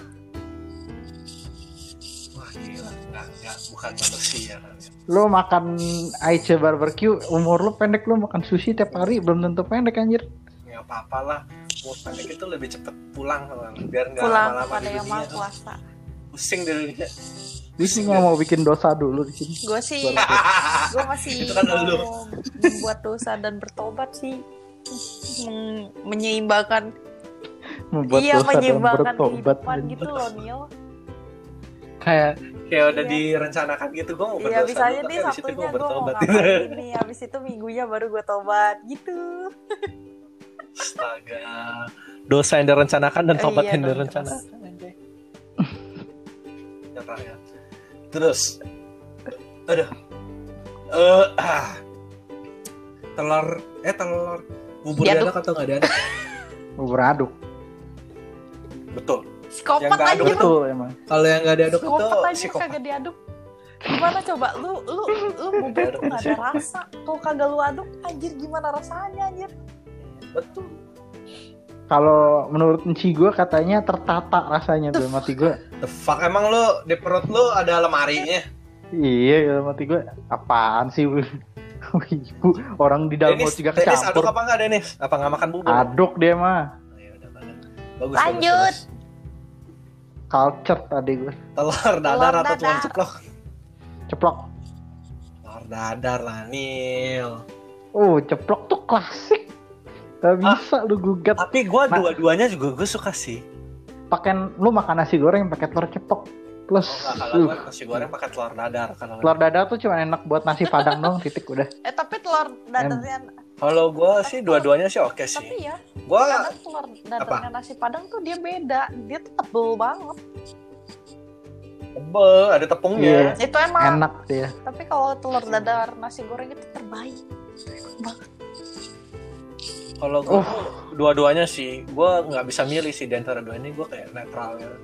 Wah gila, nggak bukan manusia kan. Lo makan IC barbecue, umur lo pendek, lo makan sushi tiap hari belum tentu pendek anjir. Ya apa-apa lah, umur pendek itu lebih cepet pulang biar nggak lama-lama pada yang mau puasa. Pusing di dunia. Dia sih nggak mau bikin dosa dulu di sini. Gue masih kan mau membuat dosa dan bertobat sih, menyeimbangkan. Menyeimbangkan kehidupan gitu loh, Nil. Kayak udah direncanakan gitu, gue mau berdosa. Iya, bisa aja nih Sabtunya gue mau ngapain nih, habis itu minggunya baru gue tobat gitu. Astaga, dosa yang direncanakan dan tobat yang direncanakan. Ya. Terus, telur bubur diaduk atau nggak diaduk? Bubur aduk. Betul. Psikopat aja betul emang. Kalau yang nggak diaduk itu psikopat. Kagak diaduk. Gimana coba lu bubur tuh nggak ada rasa. Kalau kagak lu aduk, anjir gimana rasanya anjir? Betul. Kalau menurut Enci gue katanya tertata rasanya dalam hati gue. The fuck, emang lu di perut lu ada lemarinya? Iya, dalam hati gue apaan sih? Ibu, orang di dalam mulut juga kecampur. Denis aduk apa enggak, Denis? Apa nggak makan bubur? Aduk dia mah. Bagus, lanjut. Culture tadi gue. Telur dadar atau tulang ceplok? Ceplok. Telur dadar lah, Nil. Ceplok tuh klasik. Gak bisa lu gugat. Tapi gue dua-duanya juga gue suka sih. Lu makan nasi goreng pakai telur ceplok plus. Kalau gue nasi goreng pakai telur dadar. Telur dadar tuh cuma enak buat nasi padang dong, titik udah. Tapi telur dadarnya. Kalau gue sih dua-duanya sih oke sih. Tapi ya, Gua telur dadarnya nasi padang tuh dia beda. Dia tuh tebel banget. tebel, ada tepungnya. Itu emang enak dia. Tapi kalau telur dadar nasi goreng itu terbaik banget. Kalau gue dua-duanya sih, gue nggak bisa milih sih di antara dua ini, gue kayak netral ya.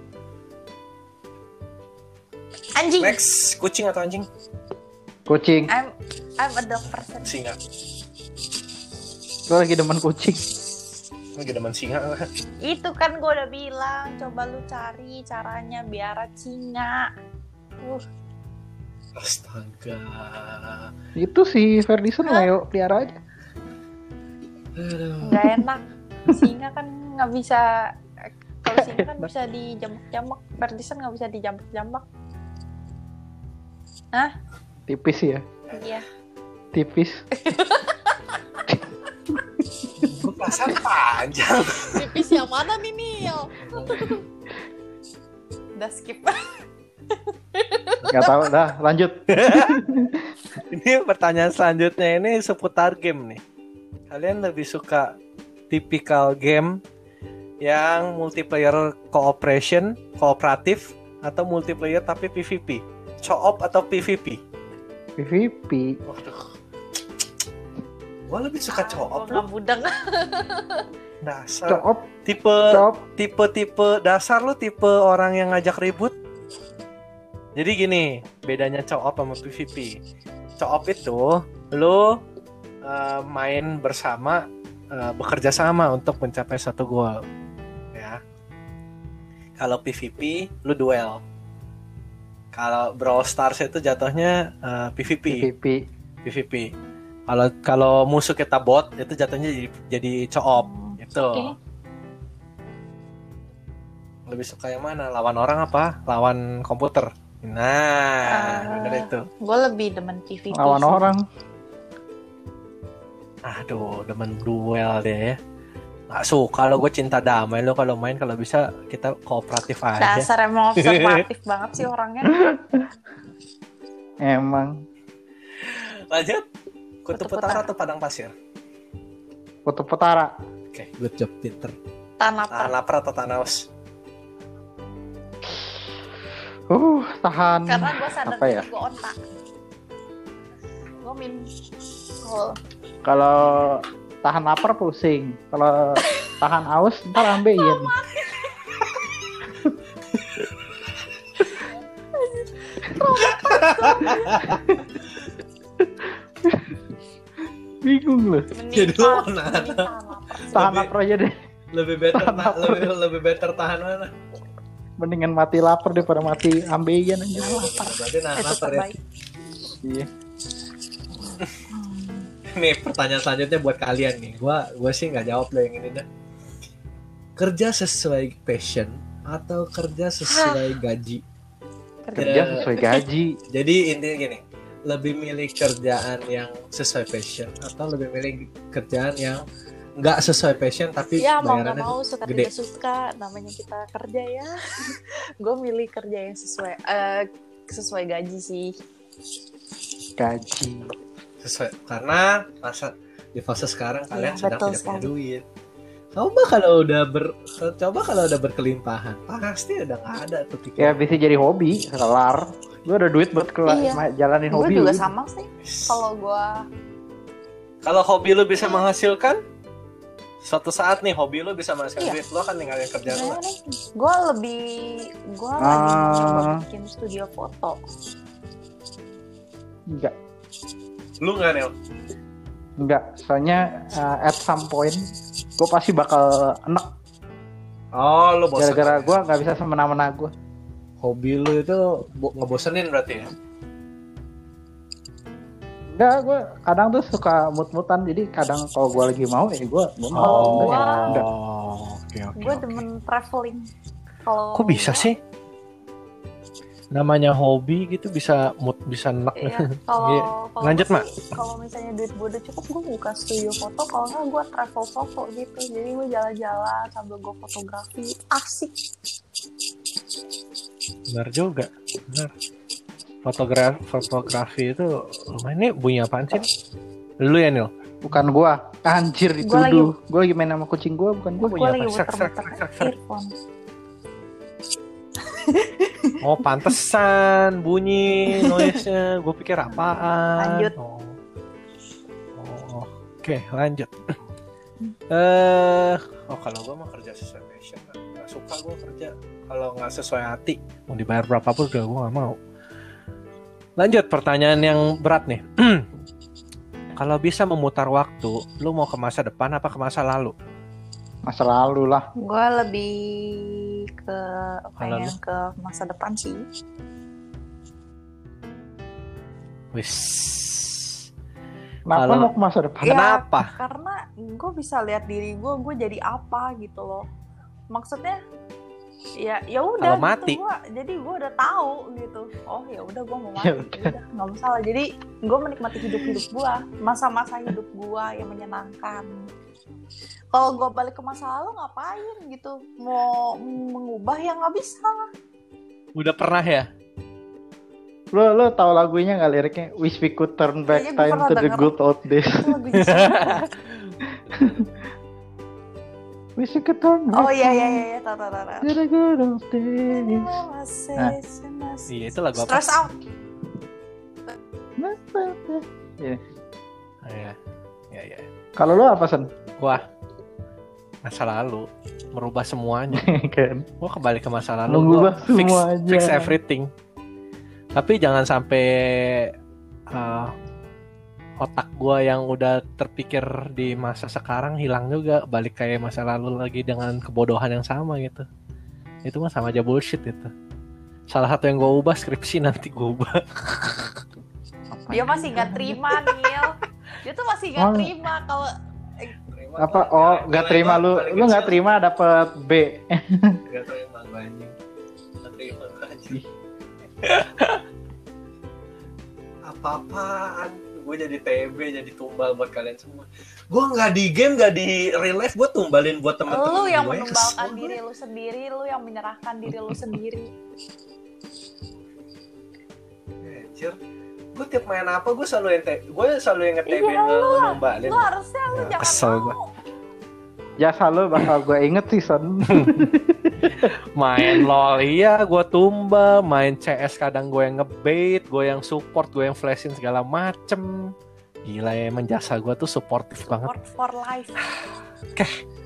Anjing. Next, kucing atau anjing? Kucing. I'm a dog person. Singa. Gue lagi demen kucing. Lagi demen singa. Itu kan gue udah bilang, coba lu cari caranya biar singa. Astaga. Itu si Ferdison Leo pelihara aja. Nggak enak. Singa kan nggak bisa. Kalau singa kan bisa dijambak-jambak. Ferdison nggak bisa dijambak-jambak. Hah? Tipis ya. Iya. Tipis. Gue perasaan panjang. Tipis yang mana nih, Nil? Udah skip. Gak tahu, dah lanjut. Ini pertanyaan selanjutnya ini seputar game nih. Kalian lebih suka tipikal game yang multiplayer kooperatif atau multiplayer tapi PvP? Co-op atau PvP? PvP. Waduh. Gue lebih suka co-op. Budang. Dasar. Co-op. Tipe dasar lu tipe orang yang ngajak ribut. Jadi gini, bedanya co-op sama PvP. Co-op itu lu main bersama, bekerja sama untuk mencapai satu goal. Ya. Kalau PvP lu duel. Kalau Brawl Stars itu jatuhnya PvP. Kalau musuh kita bot itu jatuhnya jadi co-op itu. Okay. Lebih suka yang mana? Lawan orang apa? Lawan komputer? Nah, bener itu. Gue lebih demen PvP. Lawan orang. Aduh, demen duel deh ya. Gak suka lo, gue cinta damai lo kalau main, kalau bisa kita kooperatif aja. Dasar emang observatif banget sih orangnya. Emang. Lanjut. Kutub Utara atau Padang Pasir? Kutub Utara. Oke, good job, pinter. Tahan lapar atau tahan haus? Tahan. Karena gue sadar apa ya? gue ontak. Gue kalau tahan lapar pusing. Kalau tahan haus ntar ambeien. Bingung loh. Jadi lo mana? Tahan lapar aja deh. Lebih better tahan mana? Mendingan mati lapar daripada mati ambeien aja. Berarti lapar ya. Iya. Nih pertanyaan selanjutnya buat kalian nih. Gua sih nggak jawab lo yang ini dah. Kerja sesuai passion atau kerja sesuai gaji? Kerja sesuai gaji. Jadi intinya gini, lebih milih kerjaan yang sesuai passion atau lebih milih kerjaan yang nggak sesuai passion tapi ya, bayarannya mau suka gede. Tidak suka, namanya kita kerja ya. Gue milih kerja yang sesuai gaji sih. Gaji. Sesuai, karena di fase sekarang kalian sedang tidak punya duit. Coba kalau udah berkelimpahan, pasti udah nggak ada tuh pikiran. Ya bisa jadi hobi, kelar. Gue ada duit buat jalanin hobi. Gue juga sama sih. Kalau hobi lu bisa menghasilkan, suatu saat nih hobi lu bisa menghasilkan duit, lu akan ninggalin kerjaan lu. Gue lagi coba bikin studio foto. Enggak. Lu nggak, Nel? Enggak, soalnya at some point gue pasti bakal enek. Oh, lu bosan. Gara-gara gue nggak bisa semena-mena gue. Hobi lu itu ngebosenin berarti ya? Enggak, gue kadang tuh suka mut-mutan. Jadi kadang kalau gue lagi mau ya gue mau. Oke. Gue demen traveling. Kok bisa sih? namanya hobi gitu bisa mood bisa enak. Iya, kalau lanjut Mak. Kalau misalnya duit gue udah cukup, gue buka studio foto. Kalau nggak gue travel foto gitu. Jadi gue jalan-jalan sambil gue fotografi, asik. Benar juga, benar. Fotografi itu lumayan. Ini bunyi apaan sih? Lu ya Nil? Bukan gua. Anjir dituduh. Gua lagi main sama kucing gua, bukan gua. Gue lagi muter-muter earphone. Oh pantesan bunyi noise-nya. Gue pikir apaan. Lanjut. Oke, lanjut. Kalau gue mau kerja sesuai passion, nggak suka gue kerja kalau nggak sesuai hati. Mau dibayar berapapun juga gue nggak mau. Lanjut pertanyaan yang berat nih. Kalau bisa memutar waktu, lu mau ke masa depan apa ke masa lalu? Masa lalu lah. Gue lebih pengen ke masa depan sih. Wis. Kenapa mau ke masa depan? Ya, kenapa? Karena gue bisa lihat diri gue jadi apa gitu loh. Maksudnya ya udah gitu, mati. Jadi gue udah tahu gitu. Oh ya udah gue mau mati, udah nggak masalah. Jadi gue menikmati hidup gue, masa-masa hidup gue yang menyenangkan. Kalau gue balik ke masa lalu ngapain gitu? Mau mengubah yang nggak bisa. Udah pernah ya? Lo tahu lagunya nggak liriknya? Wish we could turn back time to the good old days. Wish we could turn back. Oh iya, tahu. To the good old days. Iya itu lagu apa? Stress out. Iya. Kalau lo apa Sen? Wah, masa lalu merubah semuanya. Kan? Gua kembali ke masa lalu. Mengubah Gua semuanya. fix everything. Tapi jangan sampai otak gua yang udah terpikir di masa sekarang hilang juga, balik kayak masa lalu lagi dengan kebodohan yang sama gitu. Itu mah sama aja bullshit itu. Salah satu yang gua ubah skripsi nanti gua ubah. Dia masih nggak terima Nil. Dia tuh masih nggak terima kalau apa? Oh, nggak terima lu nggak terima dapet B. Nggak terima gue anjing. Nggak terima gue anjing. Apa-apaan? Gue jadi TB, jadi tumbal buat kalian semua. Gue nggak di game, nggak di real life, gue tumbalin buat teman-teman. Lu yang menumbalkan diri lu sendiri, lu yang menyerahkan diri lu sendiri. Anjir. Gue tiap main apa gue selalu yang nge-TB numbalin. Lu harusnya lu jangan kesel mau. Gua. Jasa lo bakal gue inget sih Son. Main LOL iya gue tumbal, main CS kadang gue yang ngebait, gue yang support, gue yang flashin segala macem. Gila ya, emang jasa gue tuh supportive banget. Support for life. Oke.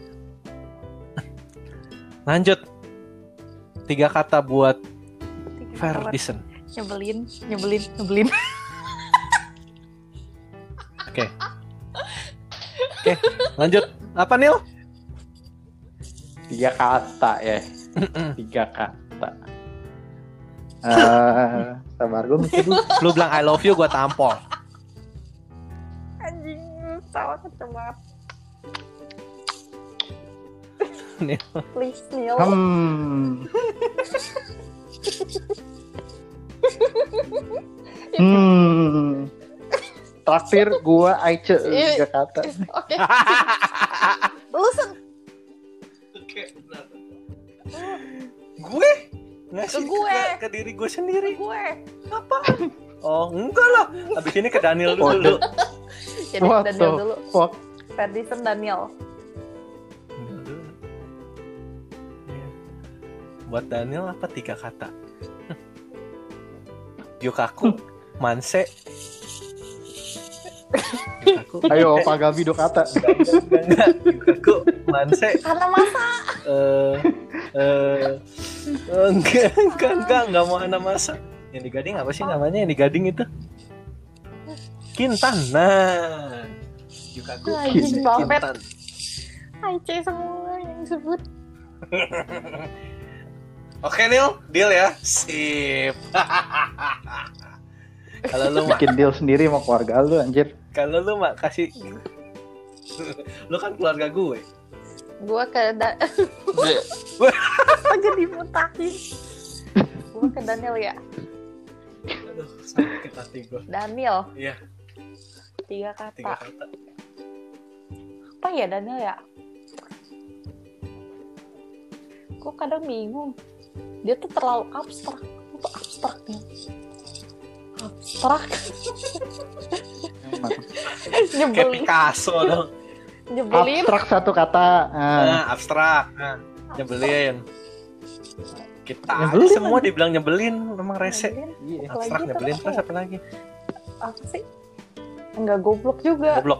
Lanjut. 3 kata buat Ferdison. Nyebelin. Oke, lanjut. Apa Nil? 3 kata ya. 3 kata. Sabar gue mikir dulu. Lu bilang I love you, gue tampol. Anjing, salah kenceng banget. Nil. Please Nil. Traktir gua Aice 3 kata. Oke. Lu Gue ngasih Ke gue. ke diri gue sendiri. gue. Apa? Oh enggak lah. Abis ini ke Daniel dulu. Jadi What Daniel the dulu. fuck? Ferdison Daniel. Buat Daniel apa 3 kata? Yukaku, Manse. Yukaku. Ayo Pak Gabi 2 kata. Enggak. Yukaku, Manse. Karena masa. Enggak mau anak masa. Yang di Gading apa sih namanya? Yang di Gading itu? Kintan. Nah. Yukaku, Kintan. Aice semua yang disebut. Oke Nil, deal ya. Sip. Kalau lu bikin deal sendiri sama keluarga lu anjir. Kalau lu mak kasih, lu kan keluarga gue. Gue ke apa jadi mutahin. Gue ke Daniel ya. Aduh, sakit hati gue. Daniel. Iya. 3 kata. 3 kata. Apa ya Daniel ya? Gue kadang bingung. Dia tuh terlalu abstrak. Itu abstrak nih. Abstrak. Kayak Nyebelin. Picasso dong. Nyebelin. Abstrak satu kata. Abstrak. Nyebelin. Kita Nyebelin aja semua aja. dibilang nyebelin, memang rese. Iya. Abstrak Lagi nyebelin terus terus apa lagi? Apa sih? Enggak goblok juga. Goblok.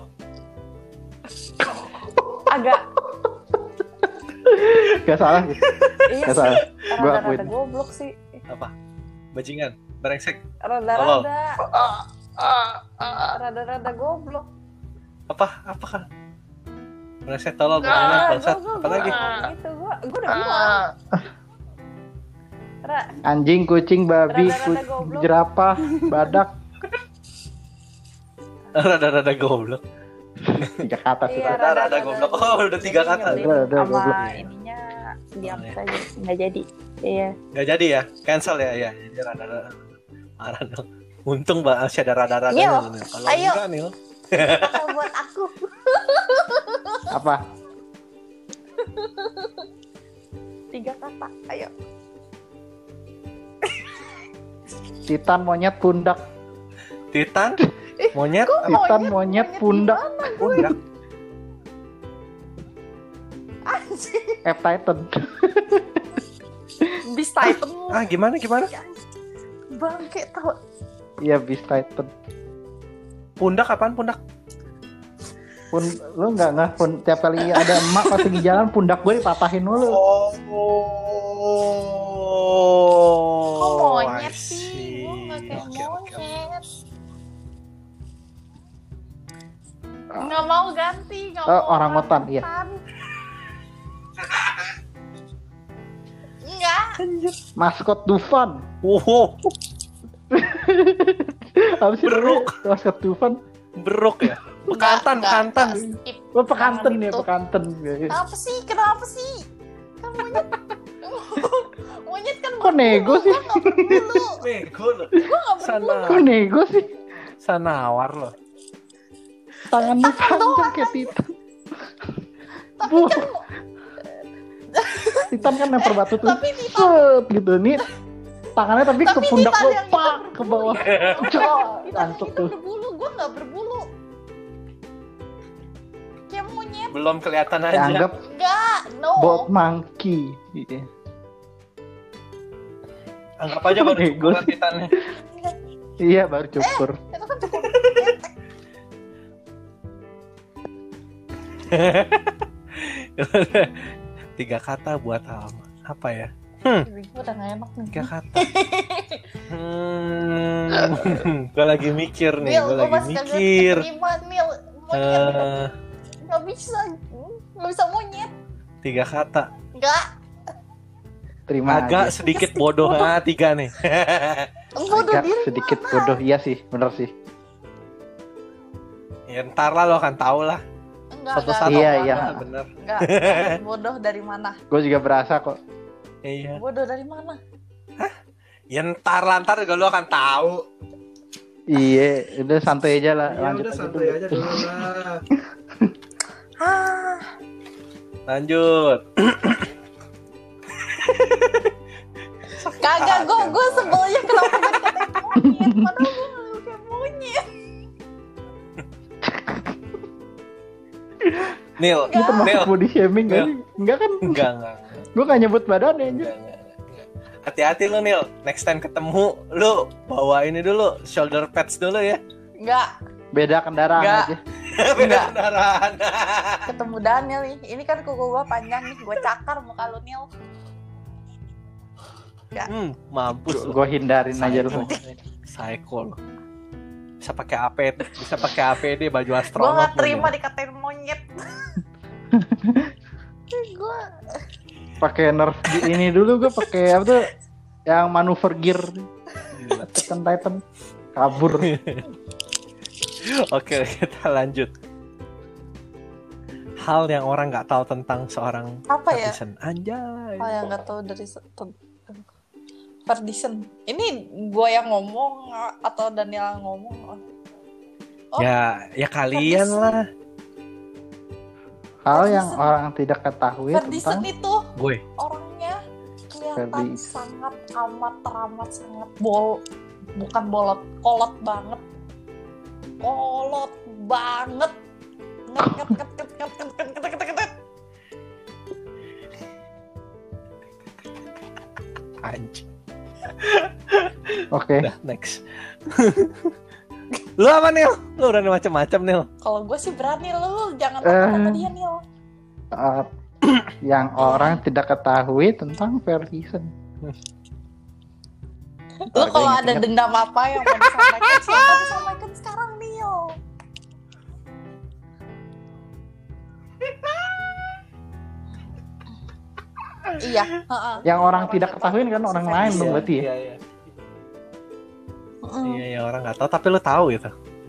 Agak. Gak salah gitu. Iya Gak sih. salah. Gua Rada-rada akuin. goblok sih. Apa? Bajingan, brengsek. Rada-rada. Rada-rada goblok. Apa kan? Brengsek, tolol, bajingan, bangsat. Apa lagi? Gitu. Gue udah bilang. Anjing, kucing, babi, Rada-rada goblok. jerapah, badak. Rada-rada goblok. 3 kata sih. Iya, Rada-rada goblok. Oh, udah 3 kata. Rada-rada goblok. Sama ininya diam saja. Nggak jadi. Iya. Gak jadi ya? Cancel ya? Ya, jadi rada-rada. Untung masih ada rada-rada. Yo, Kalau ayo. enggak nih, Kata buat aku. Apa? 3 kata. Ayo. Titan, monyet, pundak. Titan, monyet, Titan, monyet, pundak. pundak. Anjing. Titan. Beast Titan. Gimana? Bangke tau. Iya, Beast Titan. Pundak apaan pundak? Lu nggak tiap kali ada emak pas lagi jalan pundak gue dipatahin mulu. Kok monyet I sih? see. Gue nggak kayak Oke. monyet. Nggak mau ganti. Nggak mau Orangutan, iya. Enggak. Maskot Dufan. Wow, Apa sih Beruk. namanya? Maskot Dufan. beruk ya. Bekantan. Skip. Oh, pekanten Jangan ya, itu. pekanten. Kenapa sih? Kan monyet. Monyet kan Kok nego sih? Gue nggak berbulu. Bego lo. Gue nggak berbulu. Kok nego sih? Sanawar lo. Tangannya panjang kayak Titan. Tapi Bu. kan Titan kan lempar batu tuh. tapi Titan. Set gitu nih. Tangannya tapi ke Tapi pundak Titan lo, yang pak ke bawah. Cok, Titan langsung itu tuh. berbulu. Gue nggak berbulu. Kayak monyet. Belum kelihatan aja. Dianggap Enggak. No. bald monkey. Iya. Anggap aja baru Bego cukup sih. titannya. Iya, baru cukur. Itu kan cukup ketek. 3 kata buat apa ya? Gue udah gak enak nih. 3 kata. Gue lagi mikir nih. Mil, Gue gue lagi masih kagak mikir. keterima, Mil. Monyet. Eh, Gak bisa. Gak bisa monyet. 3 kata. Enggak. Terima Agak aja. sedikit bodoh. 3 nih. Bodoh Agak diri. sedikit bodoh. Iya sih, bener sih. Ya ntar lah lo akan tahu lah. Enggak, Suatu enggak. saat Iya, lo iya. bakal bener. Enggak. Bodoh dari mana? Gue juga berasa kok. Iya. Bodoh dari mana? Ya ntar lah, ntar juga lo akan tahu. Iya, udah santai aja lah. Lanjut aja dulu. dulu lah. Ah, Lanjut. kagak gue sebelnya kenapa gue dikatain monyet? Padahal gue kayak monyet. Nil, Ini termasuk Nil. body shaming gak Nil. sih? Enggak kan? Enggak. Gue gak nyebut badannya aja. Enggak. Hati-hati lo Nil. Next time ketemu lo bawa ini dulu, shoulder pads dulu ya. Enggak. Beda kendaraan Enggak. aja. Beda kendaraan. Ketemu Daniel nih. Ini kan kuku gue panjang nih. Gue cakar muka lu, Nil. Mampus lo. Gue hindarin aja lu. Psycho lo. Bisa pakai APD, bisa pakai APD baju Gue astronot. gak lo, terima Nil. dikatain monyet. Gue Pakai nerf ini dulu gue pakai apa tuh? Yang manuver gear. Gila. Titan kabur. Oke, kita lanjut. Hal yang orang nggak tahu tentang seorang apa ya? netizen. Anjay. Hal yang gak tahu dari Ferdison. Ini gue yang ngomong atau Daniel yang ngomong? Oh, ya kalian Ferdison. lah. Hal yang orang tidak ketahui Ferdison tentang itu Gue. orangnya kelihatan Ferdison. sangat teramat sangat bukan bolot, kolot banget. Nget. Anjing. Oke. Udah, next. Lu apa Nil? Lu udah macam-macam Nil. Kalau gue sih berani, lu jangan takut sama dia Nil. Yang orang tidak ketahui tentang Ferdison. Lu kalau ada dendam apa yang mau disampaikan, silakan disampaikan sekarang Nil. Iya. Yang orang tidak ketahui kan orang lain dong berarti ya. Iya, orang nggak tahu tapi lu tahu gitu.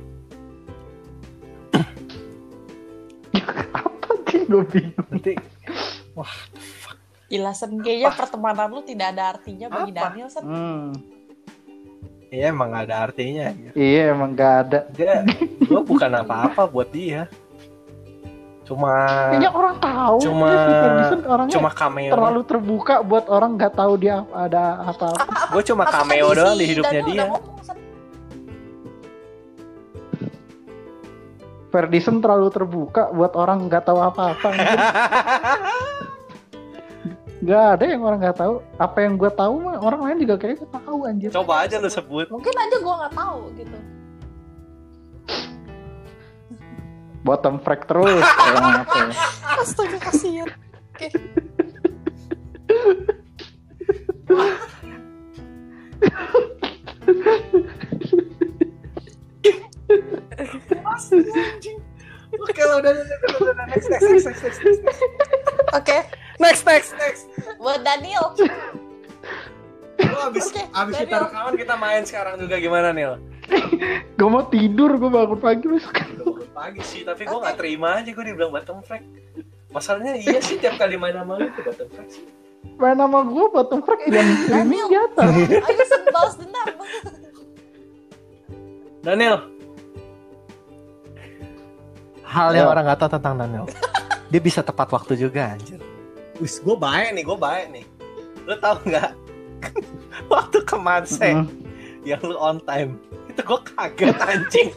Apa sih, gue bingung. Nanti wah, Gila Sen, kayaknya pertemanan lu tidak ada artinya bagi Apa? Daniel Sen. iya emang nggak ada artinya. Iya emang gak ada. Gue bukan apa-apa buat dia. Kayaknya orang tahu. Cuma si Ferdison orangnya cuma cameo. terlalu terbuka buat orang nggak tahu dia ada apa-apa. Gue cuma cameo doang di hidupnya dia. Ferdison terlalu terbuka buat orang nggak tahu apa-apa. Nggak ada yang orang nggak tahu. Apa yang gue tahu mah orang lain juga kayaknya tahu anjir. Coba aja lu sebut. Mungkin aja gue nggak tahu gitu. Bottom frag terus. Kayak apa ya? Astaga kasihan. Oke. Oke lah udah next. Oke. Next. Buat Daniel. Lu abis kita rekaman kita main sekarang juga gimana Nil? Gue mau tidur, gue bangun pagi besok. Udah bangun pagi sih, tapi gue nggak terima aja gue dibilang bottom frag. Masalahnya iya sih tiap kali main sama lu tuh bottom frag sih. Main nama gue bottom frag yang streaming jatuh. Ayo Sen, balas dendam. Daniel. Hal yang orang nggak tahu tentang Daniel. Dia bisa tepat waktu juga anjir. Wis, gue baik nih. Lu tahu nggak? Waktu ke Manse yang lu on time itu gue kaget anjing.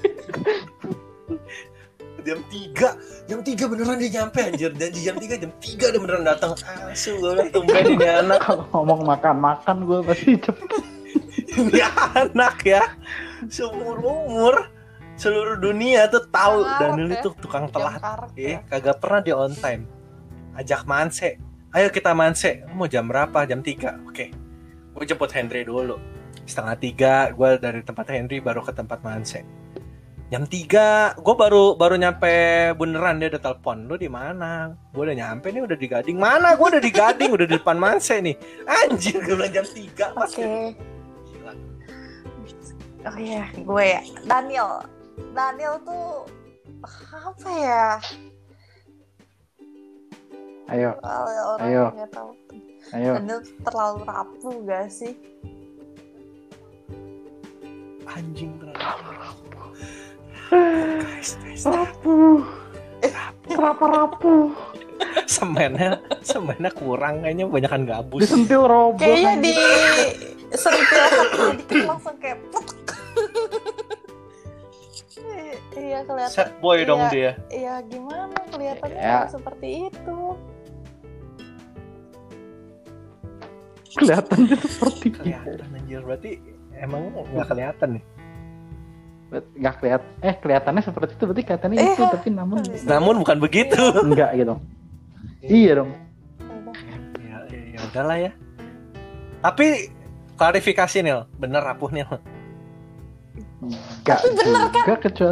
jam 3 beneran dia nyampe anjir. Dan di jam 3 dia beneran datang. Asu gue bilang tumben ini anak. Ngomong makan gue pasti cepet. Ini anak ya seumur umur seluruh dunia tuh tahu Daniel itu tukang telat. Kagak pernah dia on time. Ajak Manse. Ayo kita Manse. Mau jam berapa? Jam 3. Oke. Gue jemput Henry dulu. 2:30 gue dari tempat Henry baru ke tempat Manse. Jam 3 gue baru nyampe beneran dia udah telepon. Lu di mana? Gue udah nyampe nih, udah di Gading. Mana? Gue udah di Gading, udah di depan Manse nih. Anjir, gue bilang jam 3. Oke. Oh iya, gue ya. Daniel tuh apa ya? Ayo. Nggak tahu. Ayo. Daniel terlalu rapuh gak sih? Anjing terlalu rapuh. Guys. Rapuh. Rapuh. Semennya kurang kayaknya, banyakan gabus. Disentil robot. Kayaknya disentil dikit langsung kayak putek. Iya kelihatan. Sad boy dong dia. Iya gimana kelihatannya Ya. seperti itu. Kelihatannya seperti itu. Kelihatan anjir, berarti emang nggak kelihatan nih. Nggak kelihatannya seperti itu, berarti kelihatannya itu, tapi Namun bukan begitu. enggak gitu. Iya dong. Ya udahlah ya. Tapi klarifikasi Nil, bener rapuh Nil. Enggak juga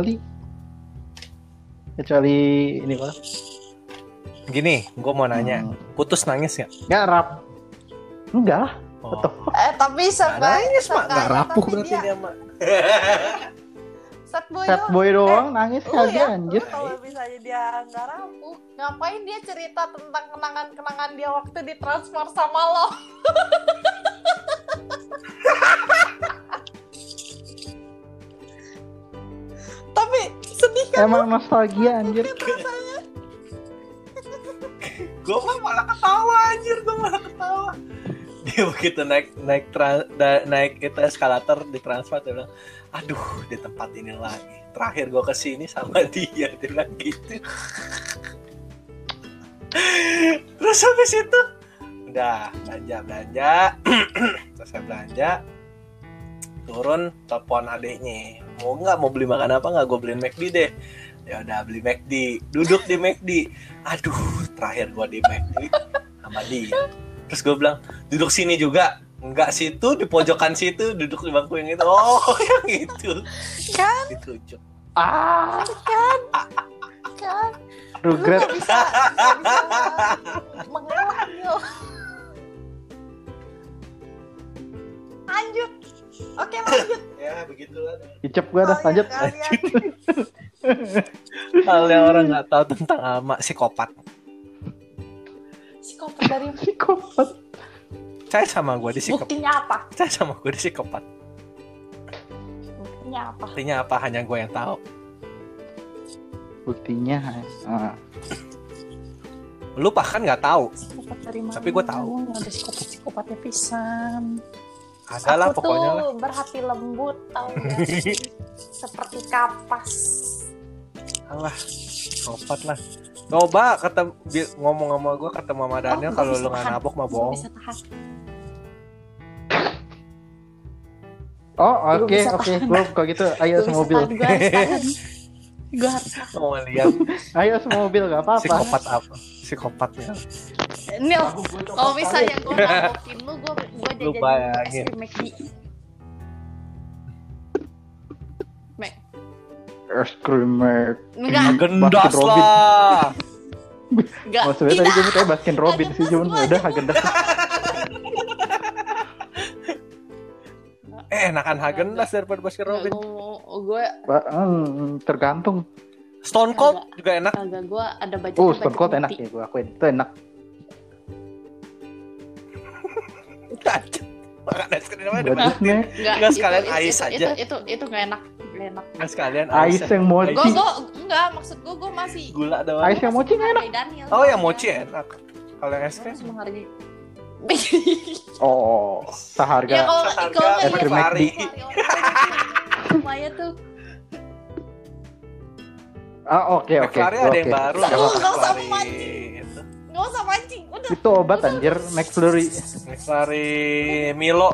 kecuali ini Pak. Gini, gue mau nanya, putus nangis nggak? Nggak rap. Enggak lah. Oh. Tapi Nangis mak, nggak rapuh berarti dia mak. Sad boy doang nangis kagak anjir. Kalau misalnya dia nggak rapuh, ngapain dia cerita tentang kenangan-kenangan dia waktu ditransfer sama lo? Tapi sedih kan? Emang nostalgia anjir. Gue malah ketawa anjir, gue malah ketawa. Dia begitu naik itu eskalator di Transmart, dia bilang, aduh di tempat ini lagi. Terakhir gue kesini sama dia bilang gitu. Terus habis itu udah belanja selesai belanja, turun telepon adeknya, mau beli makan apa nggak, gue beliin McD deh. Ya udah beli McD, duduk di McD. Aduh, terakhir gua di McD sama dia. Terus gue bilang, duduk sini juga. Enggak, situ di pojokan situ, duduk di bangku yang itu. Oh, yang itu. Kan? Ditunjuk. Kan? Regret. Lu gak bisa mengalah yo. Lanjut. Oke, lanjut. Ya, begitulah. Icep gue dah, lanjut. Hal yang orang nggak tahu tentang Ama, psikopat. Psikopat dari Psikopat. Saya sama gue di psikopat. buktinya apa? Saya sama gue di psikopat. Buktinya apa? Artinya apa? Hanya gue yang tahu. Buktinya. Lu bahkan nggak tahu. Psikopat dari mana? Tapi gue tahu. Ada psikopat-psikopatnya pisan. Ada lah pokoknya lah. Aku tuh berhati lembut, tahu gak sih? Seperti kapas. Alah, psikopat lah. Coba ngomong sama gue, kata Mama Daniel, kalau lu nggak nabok mah bohong. Bisa tahan. Oh, oke. Gue kalau gitu ayo semobil. Gue harus tahan. Mau lihat Ayo semobil gak apa-apa. psikopat apa? Psikopatnya. Nil, kalau misalnya gue nabokin lu Lu bayangin. jajan McD. Es krim Enggak, Gendas Baskin Robin. lah. enggak. Maksudnya tadi gue minta Baskin Robin sih, cuman udah Hagendas. Enakan Hagendas daripada Baskin Robin. Gue Tergantung. Stone Cold juga enak. kagak, gue ada budget. Stone Cold enak ya, gue akuin itu enak. Makan es krim apa? Budgetnya Nggak, sekalian ais aja. Itu nggak enak. Nggak enak. Nggak sekalian ais yang mochi. Gue enggak, maksud gue masih Gula doang. Ais yang mochi nggak enak. Daniel. Oh, yang mochi enak. Kalau yang es Gue krim harus menghargai. Oh, seharga. Ya kalau seharga es krim McD. Lumayan tuh. Oke. McFlurry ada yang baru. Nggak nama usah McFlurry. mancing. Itu. Nggak usah mancing. Udah. Itu obat anjir, McFlurry. McFlurry Milo.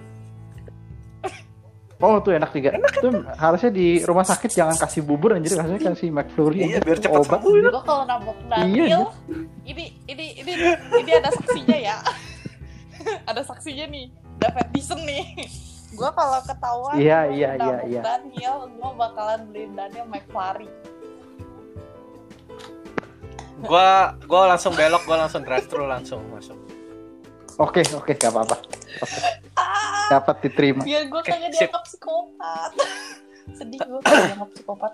Oh, tuh enak juga. Itu harusnya di rumah sakit jangan kasih bubur anjir, harusnya kasih McFlurry. Iya, anjir. biar cepat obat. sembuh. Gue kalau nabok Iya, Daniel, ini ada saksinya ya. Ada saksinya nih, David Dyson nih. Gue kalau ketahuan Iya. Daniel, gue bakalan beliin Daniel McFlurry. Gue langsung belok, gue langsung drive thru langsung masuk. Oke, gak apa-apa. Dapat diterima. Biar gue kagak sip. dianggap psikopat. Sedih gue kagak dianggap psikopat.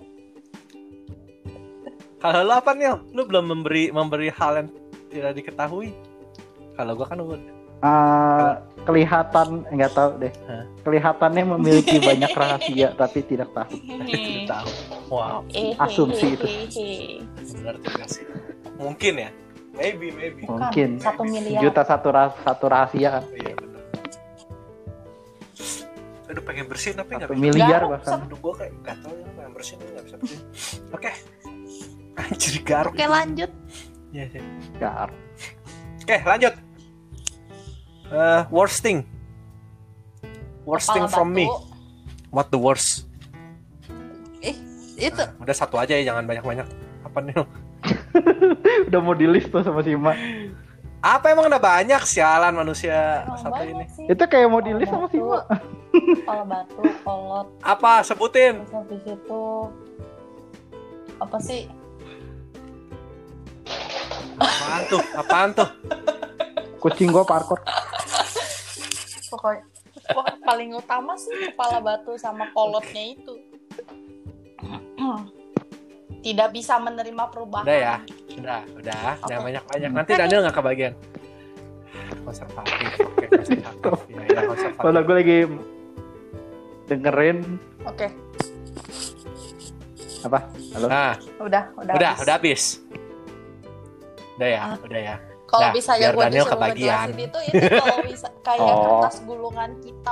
Kalau lu apa nih? Lu belum memberi hal yang tidak diketahui. Kalau gue kan udah. Kelihatan nggak tahu deh. Kelihatannya memiliki banyak rahasia tapi tidak tahu. Tidak tahu. Wow. Asumsi itu. Benar juga sih. Mungkin ya. Maybe. Mungkin. 1 miliar. Juta satu rahasia kan. Iya benar. Aduh pengen bersihin tapi nggak 1 bisa. miliar Garuk, bahkan. Aduh gue kayak gatel ya pengen bersihin nggak bisa bersihin. Oke. Anjir garuk. Oke, lanjut. Iya. Gar. Oke lanjut. Worst thing Kepala from me. batu. What the worst? Itu Udah satu aja ya, jangan banyak-banyak. Apa nih? Udah mau di list tuh sama si Ma. Apa emang udah banyak sialan manusia emang satu banyak ini? sih. Itu kayak mau di list sama si Ma. Kepala batu, kolot, Apa? Sebutin. terus habis itu apa sih? Apaan tuh? Kucing gua parkour. Pokoknya paling utama sih kepala batu sama kolotnya itu. Tidak bisa menerima perubahan. Udah ya? Udah. Jangan banyak-banyak. Nanti Daniel nggak kebagian. Konservatif. Oke, konservatif. Ya, konservatif. Kalau gue lagi dengerin Oke. apa? Halo. Nah, Udah habis. Udah ya, udah ya. Kalau Nah, bisa ya biar gue Daniel disuruh kebagian. ngejelasin itu ini kalau bisa kayak Oh. kertas gulungan kitab.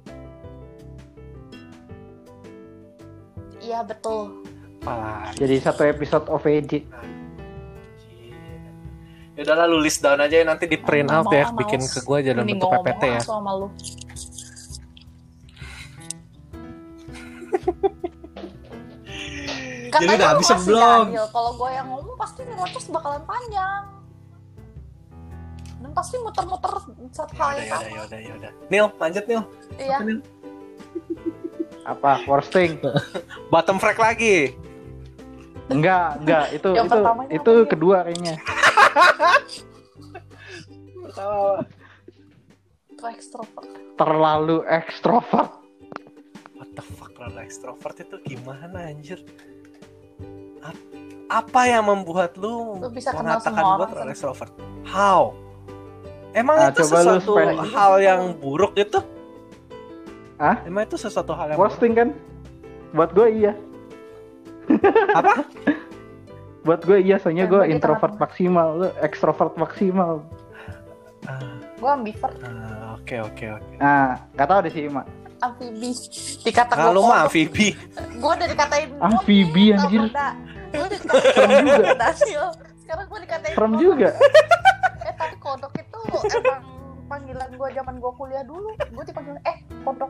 Iya betul. Apalah. Jadi satu episode OVJ. Ya udahlah, lu list down aja ya, nanti di print out ya, bikin ke gue aja dalam Mending bentuk gua PPT ngomong ya. langsung sama lu. Jadi udah Katanya habis masih belum? Daniel. Kalau gue yang ngomong pasti ngocos bakalan panjang. Dan pasti muter-muter satu hal yang sama. Ya udah. Nil, lanjut Nil. Iya. Nil. Apa? Worsting? Bottom frag lagi. Enggak, itu Yang pertamanya itu apa dia? kedua kayaknya. Pertama. Itu ekstrovert. Terlalu ekstrovert. What the fuck, terlalu ekstrovert itu gimana anjir? Apa yang membuat lu Lu bisa kenal mengatakan semua gua orang, terlalu kan? ekstrovert? How? Emang Ah, itu coba lu sesuatu spell. hal yang buruk itu? Hah? Emang itu sesuatu hal yang buruk? Worsting kan? Buat gue iya. Apa? Buat gue iya, soalnya gue Bagi introvert teman-teman. maksimal, lu ekstrovert maksimal. Gue ambivert, Oke. Nah, nggak tahu deh sih, Mak. amfibi. Dikata Nah, lu mah amfibi. Gue udah dikatain Amfibi, anjir. Gue udah dikatain Serem juga. Daniel. Sekarang gue dikatain Serem kodok. juga. Tapi kodok itu emang panggilan gue zaman gue kuliah dulu. Gue dipanggil kodok.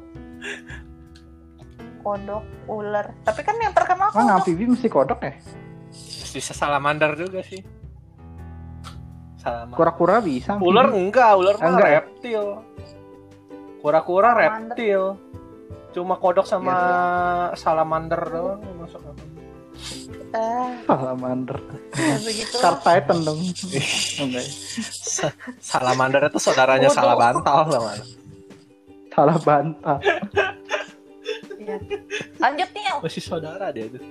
Kodok, ular. Tapi kan yang terkenal Emang kodok. amfibi mesti kodok ya? Bisa salamander juga sih. Salamander. Kura-kura bisa. amfibi. Ular enggak mah Enggak ya? reptil. Kura-kura Salamander. reptil. Cuma kodok sama Iya. salamander doang masuk. Salamander. Ya begitu. Star Titan dong. Enggak ya? Salamander itu saudaranya Bodoh. salah bantal sama. Salah bantal. Iya. Lanjut nih. Masih saudara dia tuh.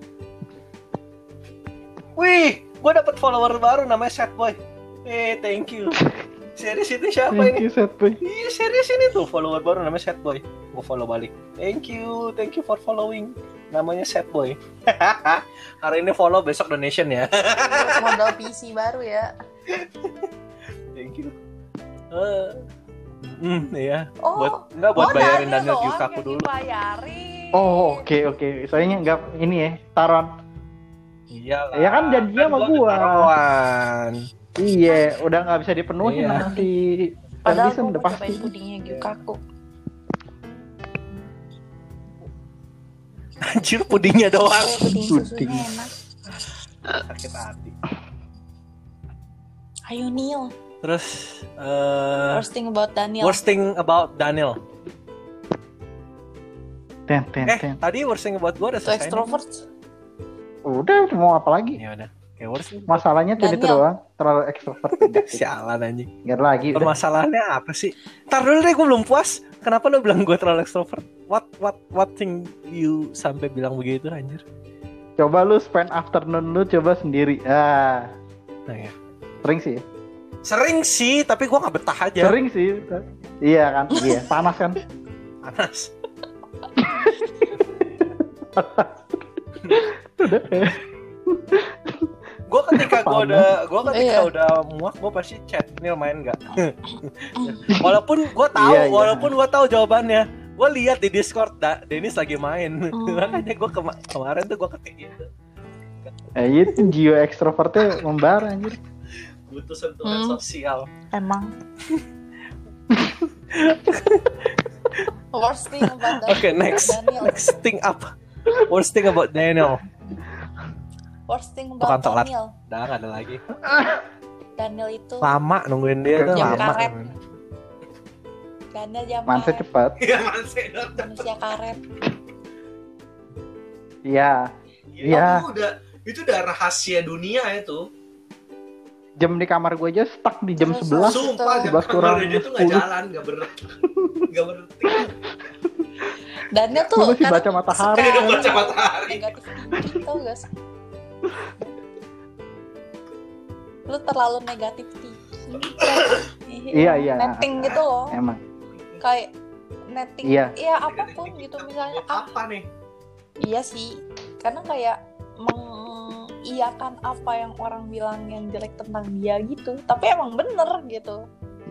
Wih, gue dapet follower baru namanya Setboy. Thank you. Serius itu siapa Thank ini? you, Set Boy. Iya serius ini tuh follower baru namanya Setboy. Gue follow balik. Thank you for following. Namanya Setboy. Hari ini follow, besok donation ya. Modal PC baru ya. Thank you. Iya. Oh, Buat bayarin Daniel doang Yukaku yang dulu. dibayarin. Oh, oke. Soalnya nggak ini ya, taruhan. Iya lah. Ya kan janjinya sama gua. Taruhan. Iya, udah nggak bisa dipenuhin Iya. nanti. Padahal Kan gue udah mau pasti. cobain pudingnya Gyukaku. Anjir pudingnya doang. Puding Puding. susunya enak. Sakit hati. Ayo Neil. Terus Worst thing about Daniel. worst thing about Daniel. Ten. Tadi worst thing about gue udah Itu selesai. extrovert. Udah, mau apa lagi? Ya udah. Kayak worst thing. Masalahnya tuh itu Daniel. doang, terlalu ekstrovert. Sialan anjing. Nggak ada lagi. Udah. Permasalahannya apa sih? Ntar dulu deh, gue belum puas. Kenapa lo bilang gue terlalu extrovert? What thing you sampai bilang begitu anjir? Coba lu spend afternoon lu coba sendiri. Ah, Nah, ya. sering sih. Sering sih, tapi gue nggak betah aja. Sering sih. Iya kan? Iya, panas kan? Panas. Gue ketika Iya. udah muak, gue pasti chat Nil main nggak. Walaupun gue tahu, Iya, iya. walaupun gue tahu jawabannya, gue lihat di Discord Dennis lagi main. Makanya gue kemarin tuh gue ketik gitu. Itu jiwa ekstrovertnya membara anjir. Butuh sentuhan sosial. Emang. Worst thing about Oke, next thing apa? Worst thing about Daniel. Worst thing Bukan about telat. Daniel. Udah nggak ada lagi. Daniel itu Lama nungguin dia tuh Jam lama. karet. Daniel zaman Manse cepat. Iya masih. manusia karet. Iya. Iya. Itu udah rahasia dunia itu. Jam di kamar gue aja stuck di jam Terus, 11. Sumpah, jam 11 kurang kamar dia tuh nggak 10. jalan, nggak berhenti. Daniel tuh Gue masih baca kadang matahari. suka kan? Baca matahari. negatif tinggi, tau gak sih? Lu terlalu negatif tinggi. Iya. Netting gitu loh. Emang. Kayak netting. Iya. Iya apapun gitu misalnya. Apa nih? Iya sih. Karena kayak mengiyakan apa yang orang bilang yang jelek tentang dia gitu. Tapi emang bener gitu.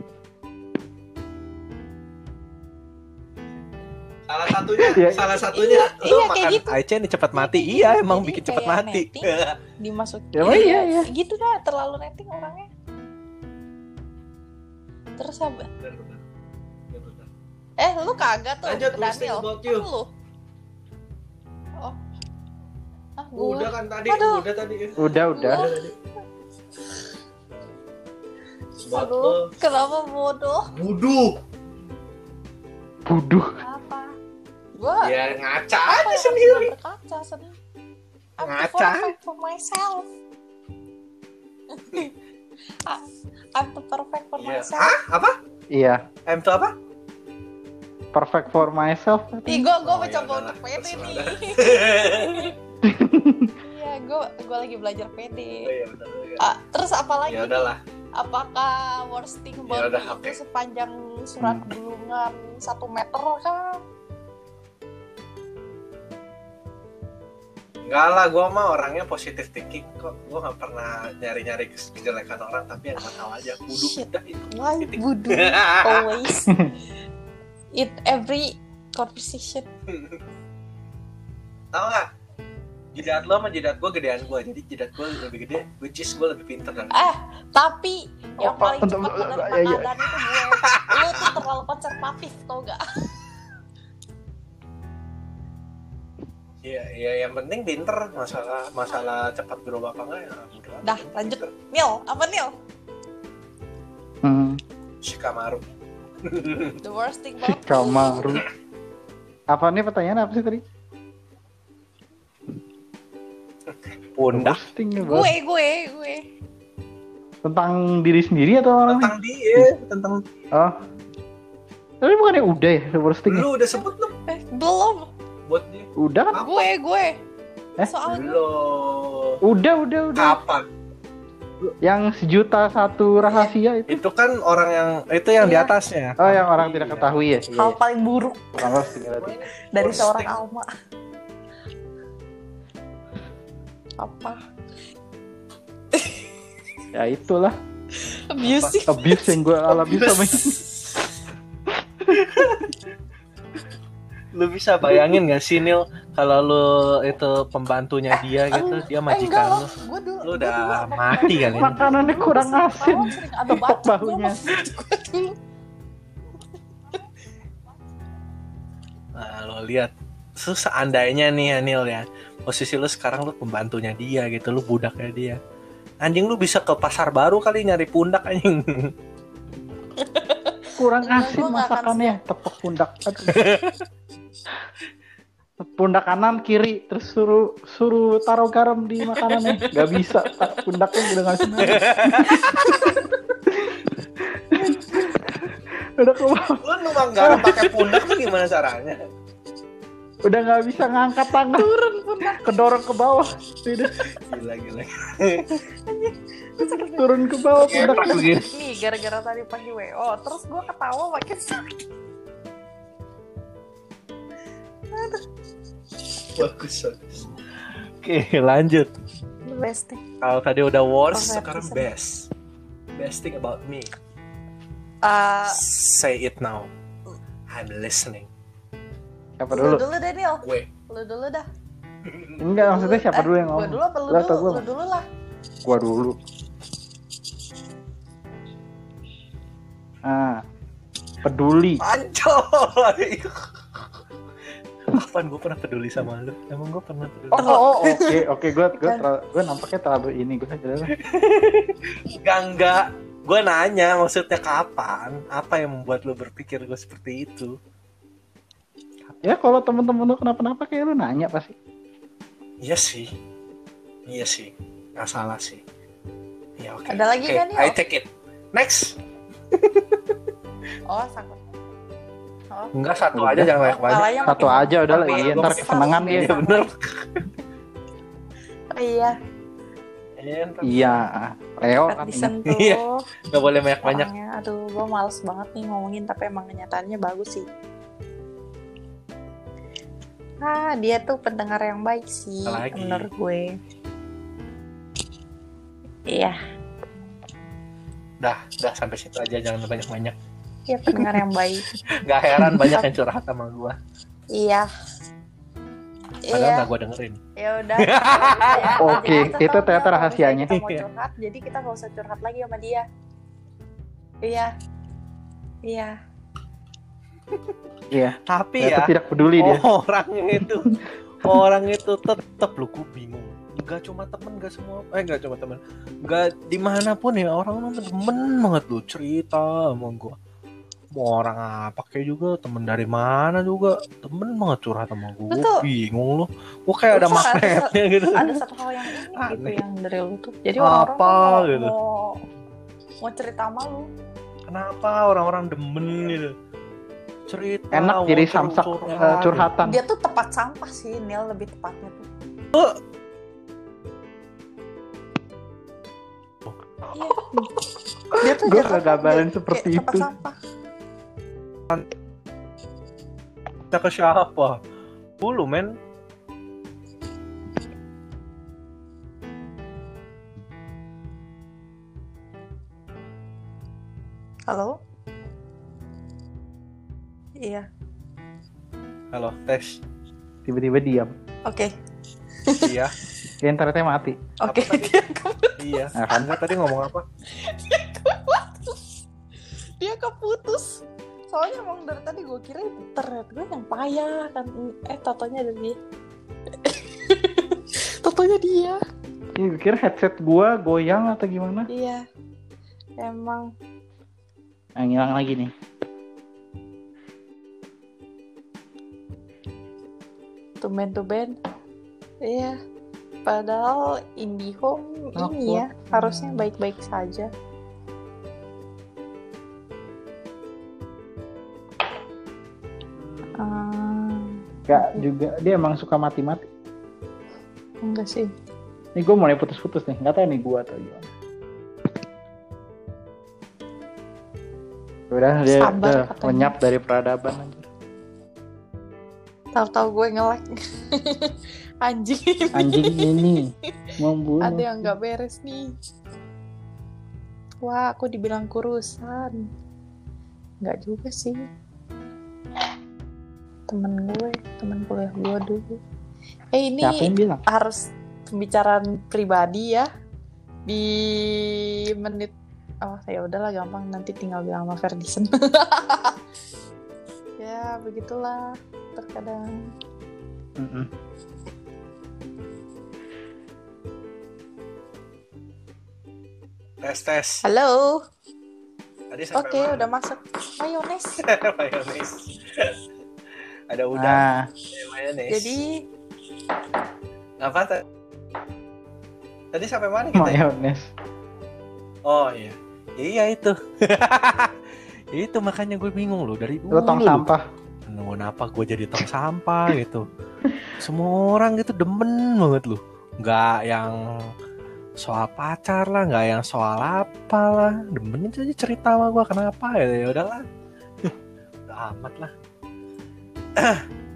Salah satunya lu iya, makan gitu. Aichen cepat mati. Iya, emang Jadi bikin cepat kayak mati. Dimasukin. Iya. Gitu dah, terlalu netting orangnya. Terus apa? Lu kagak tuh. Lanjut, ke listing Daniel. about you. Lu. Oh. Gua. Udah kan tadi, Aduh. udah tadi. Udah. Buat Aduh, lo. kenapa bodoh? Buduh. Apa? Gua Ya ngaca apa aja yang sendiri. harus gua berkaca sendiri? I'm Ngaca. perfect for myself. I'm the perfect for Iya. myself. Hah? Apa? Iya. M itu apa? Perfect for myself. Ih, gue Oh, mencoba ya udahlah. untuk pede Terserah nih. dah. Iya, gue lagi belajar pede. Oh, iya, benar. Terus apa lagi? Ya udahlah. Apakah worst thing Ya about udah, me oke. itu sepanjang surat gulungan 1 meter kan? Enggak lah, gue mah orangnya positive thinking kok. Gue nggak pernah nyari-nyari kejelekan orang, tapi yang nggak tahu aja. Kudu Shit. udah itu. Why Titik. voodoo always in every conversation? Tahu nggak? Jidat lo sama jidat gue gedean gue, jadi jidat gue lebih gede, which is gue lebih pinter dan Tapi yang Apa? paling cepat menerima Iya. keadaan itu gue. Lu tuh terlalu konservatif, tau gak? Iya, yang penting pinter. Masalah cepat berubah apa enggak ya udah. Dah, lanjut. Nil, apa Nil? Shikamaru. The worst thing about Shikamaru. Apa nih pertanyaan apa sih tadi? Pundak. Roasting ya, Bos. gue. Tentang diri sendiri atau orang lain? Tentang dia, tentang Oh. Tapi bukannya udah ya roasting? lu udah sebut lu Belum. buat dia. Udah kan? Gue. Eh? Soalnya Belum. Udah. Kapan? Yang 1.000.001 rahasia itu. Itu kan orang yang itu yang di Iya. atasnya. Oh, yang orang Iya. tidak ketahui ya. hal paling buruk Bukan roasting berarti. dari Worst seorang thing. Alma. Apa? Ya itulah Abusive. abuse yang gue alami sama ini. Lu bisa bayangin gak sih Nil kalau lu itu pembantunya dia gitu, dia majikan lu. Gue dulu. Lu udah mati kali ini. Makanannya kurang asin. Sering ada Tok bacok bahunya. gue dulu. Nah, lo lihat. So, seandainya nih ya Nil ya, posisi lu sekarang lu pembantunya dia gitu, lu budaknya dia. Anjing lu bisa ke pasar baru kali nyari pundak anjing. Kurang Enggak, asin gua nggak akan masakannya, tepuk pundak. Aduh. Pundak kanan kiri terus suruh taruh garam di makanannya. Gak bisa, pundaknya udah ngasih. Udah ke bawah. Lu numpang garam pakai pundak tuh gimana caranya? Udah nggak bisa ngangkat tangan, turun pundak, kedorong ke bawah. Udah Gila. turun ke bawah Enak pundaknya. begini. Nih gara-gara tadi pagi WO, terus gue ketawa makin sakit. Bagus. Oke, lanjut. The best thing. Kalau tadi udah worst, Perfect sekarang reason. best. Best thing about me. Say it now. I'm listening. Siapa Lu dulu? dulu Daniel. Gue. Lu dulu dah. Enggak, maksudnya siapa dulu yang Gue ngomong? dulu apa lu Lu atau dulu? gua? Lu dulu lah. Gua dulu. Peduli. Ancoy. Kapan gue pernah peduli sama lu? Emang gue pernah peduli? Oke, gue nampaknya terlalu ini gue aja. Enggak. Gue nanya maksudnya kapan? Apa yang membuat lu berpikir gue seperti itu? Ya kalau temen-temen lu kenapa-napa kayak lu nanya pasti. Iya sih. Nggak salah sih. Ya oke. Ada lagi Oke, kan, Nil? I take it. Next. Oh, sakit. Oh. Enggak, satu Udah. aja jangan banyak-banyak. Kalanya Satu makin aja udah lah, makin iya, ntar besar. kesenangan dia. Iya bener. Oh, iya. Iya, Leo Fat kan ini. disentuh. Iya. Nggak boleh banyak-banyak. Orangnya, aduh, gue males banget nih ngomongin, tapi emang kenyataannya bagus sih. Dia tuh pendengar yang baik sih, Apalagi? menurut gue. Iya, Dah sampai situ aja, jangan banyak-banyak. dia pendengar yang baik. Gak heran banyak yang curhat sama gue. Iya. Padahal nggak gue dengerin. Ya udah. Oke, itu ternyata rahasianya. Kita mau curhat, jadi kita nggak usah curhat lagi sama dia. Iya. Iya. Tapi Ternyata ya tidak peduli dia. orang itu tetap lu, gue bingung. Gak cuma temen, gak cuma temen, gak dimanapun ya, orang temen banget lu cerita sama gue. Mau orang apa kayak juga, temen dari mana juga, temen banget curhat sama gue. Bingung lu, gue kayak ada magnetnya gitu. Ada satu hal yang ini gitu yang dari lu tuh. Jadi apa orang-orang gitu mau cerita sama lu. Kenapa orang-orang demen gitu cerita, enak jadi samsak curhatan. Dia tuh tempat sampah sih, Nil, lebih tepatnya tuh. Iya. Dia tuh gue kegabalan seperti itu. Sampah. Kita ke siapa? Dulu men. Halo? Iya. Halo, tes. Tiba-tiba diam. Oke. Iya. Ya, internetnya mati. Oke. Iya. Nah, kamu tadi ngomong apa? Dia keputus. Soalnya emang dari tadi gue kira internet gue yang payah kan. Totonya ada dia. Totonya dia. Iya, gue kira headset gue goyang atau gimana. Iya. Emang. Yang hilang lagi nih. Tumben. Iya. Padahal IndiHome ini ya harusnya baik-baik saja. Gak juga, dia emang suka mati-mati. Enggak sih. Nih gue mulai putus-putus nih, nggak tahu nih gue atau gimana. Udah dia Sabar, udah lenyap dari peradaban. Tahu-tahu gue nge-lag. Anjing ini membunuh. Ada yang nggak beres nih. Wah, aku dibilang kurusan. Nggak juga sih. Temen kuliah gue dulu. Ini harus pembicaraan pribadi ya di menit. Oh ya udahlah, gampang, nanti tinggal bilang sama Ferdison. Ya begitulah terkadang. Tes. Halo. Oke, udah masuk. Mayones. Ada udang. Mayones. Jadi apa tadi sampai mana kita? Mayones. Oh iya. Iya itu. Itu makanya gue bingung loh dari dulu. Lo tong sampah. Kenapa gue jadi tong sampah gitu? Semua orang gitu demen banget lu. Nggak yang soal pacar lah, nggak yang soal apa lah, demen aja cerita sama gue kenapa ya udahlah. Udah amat lah.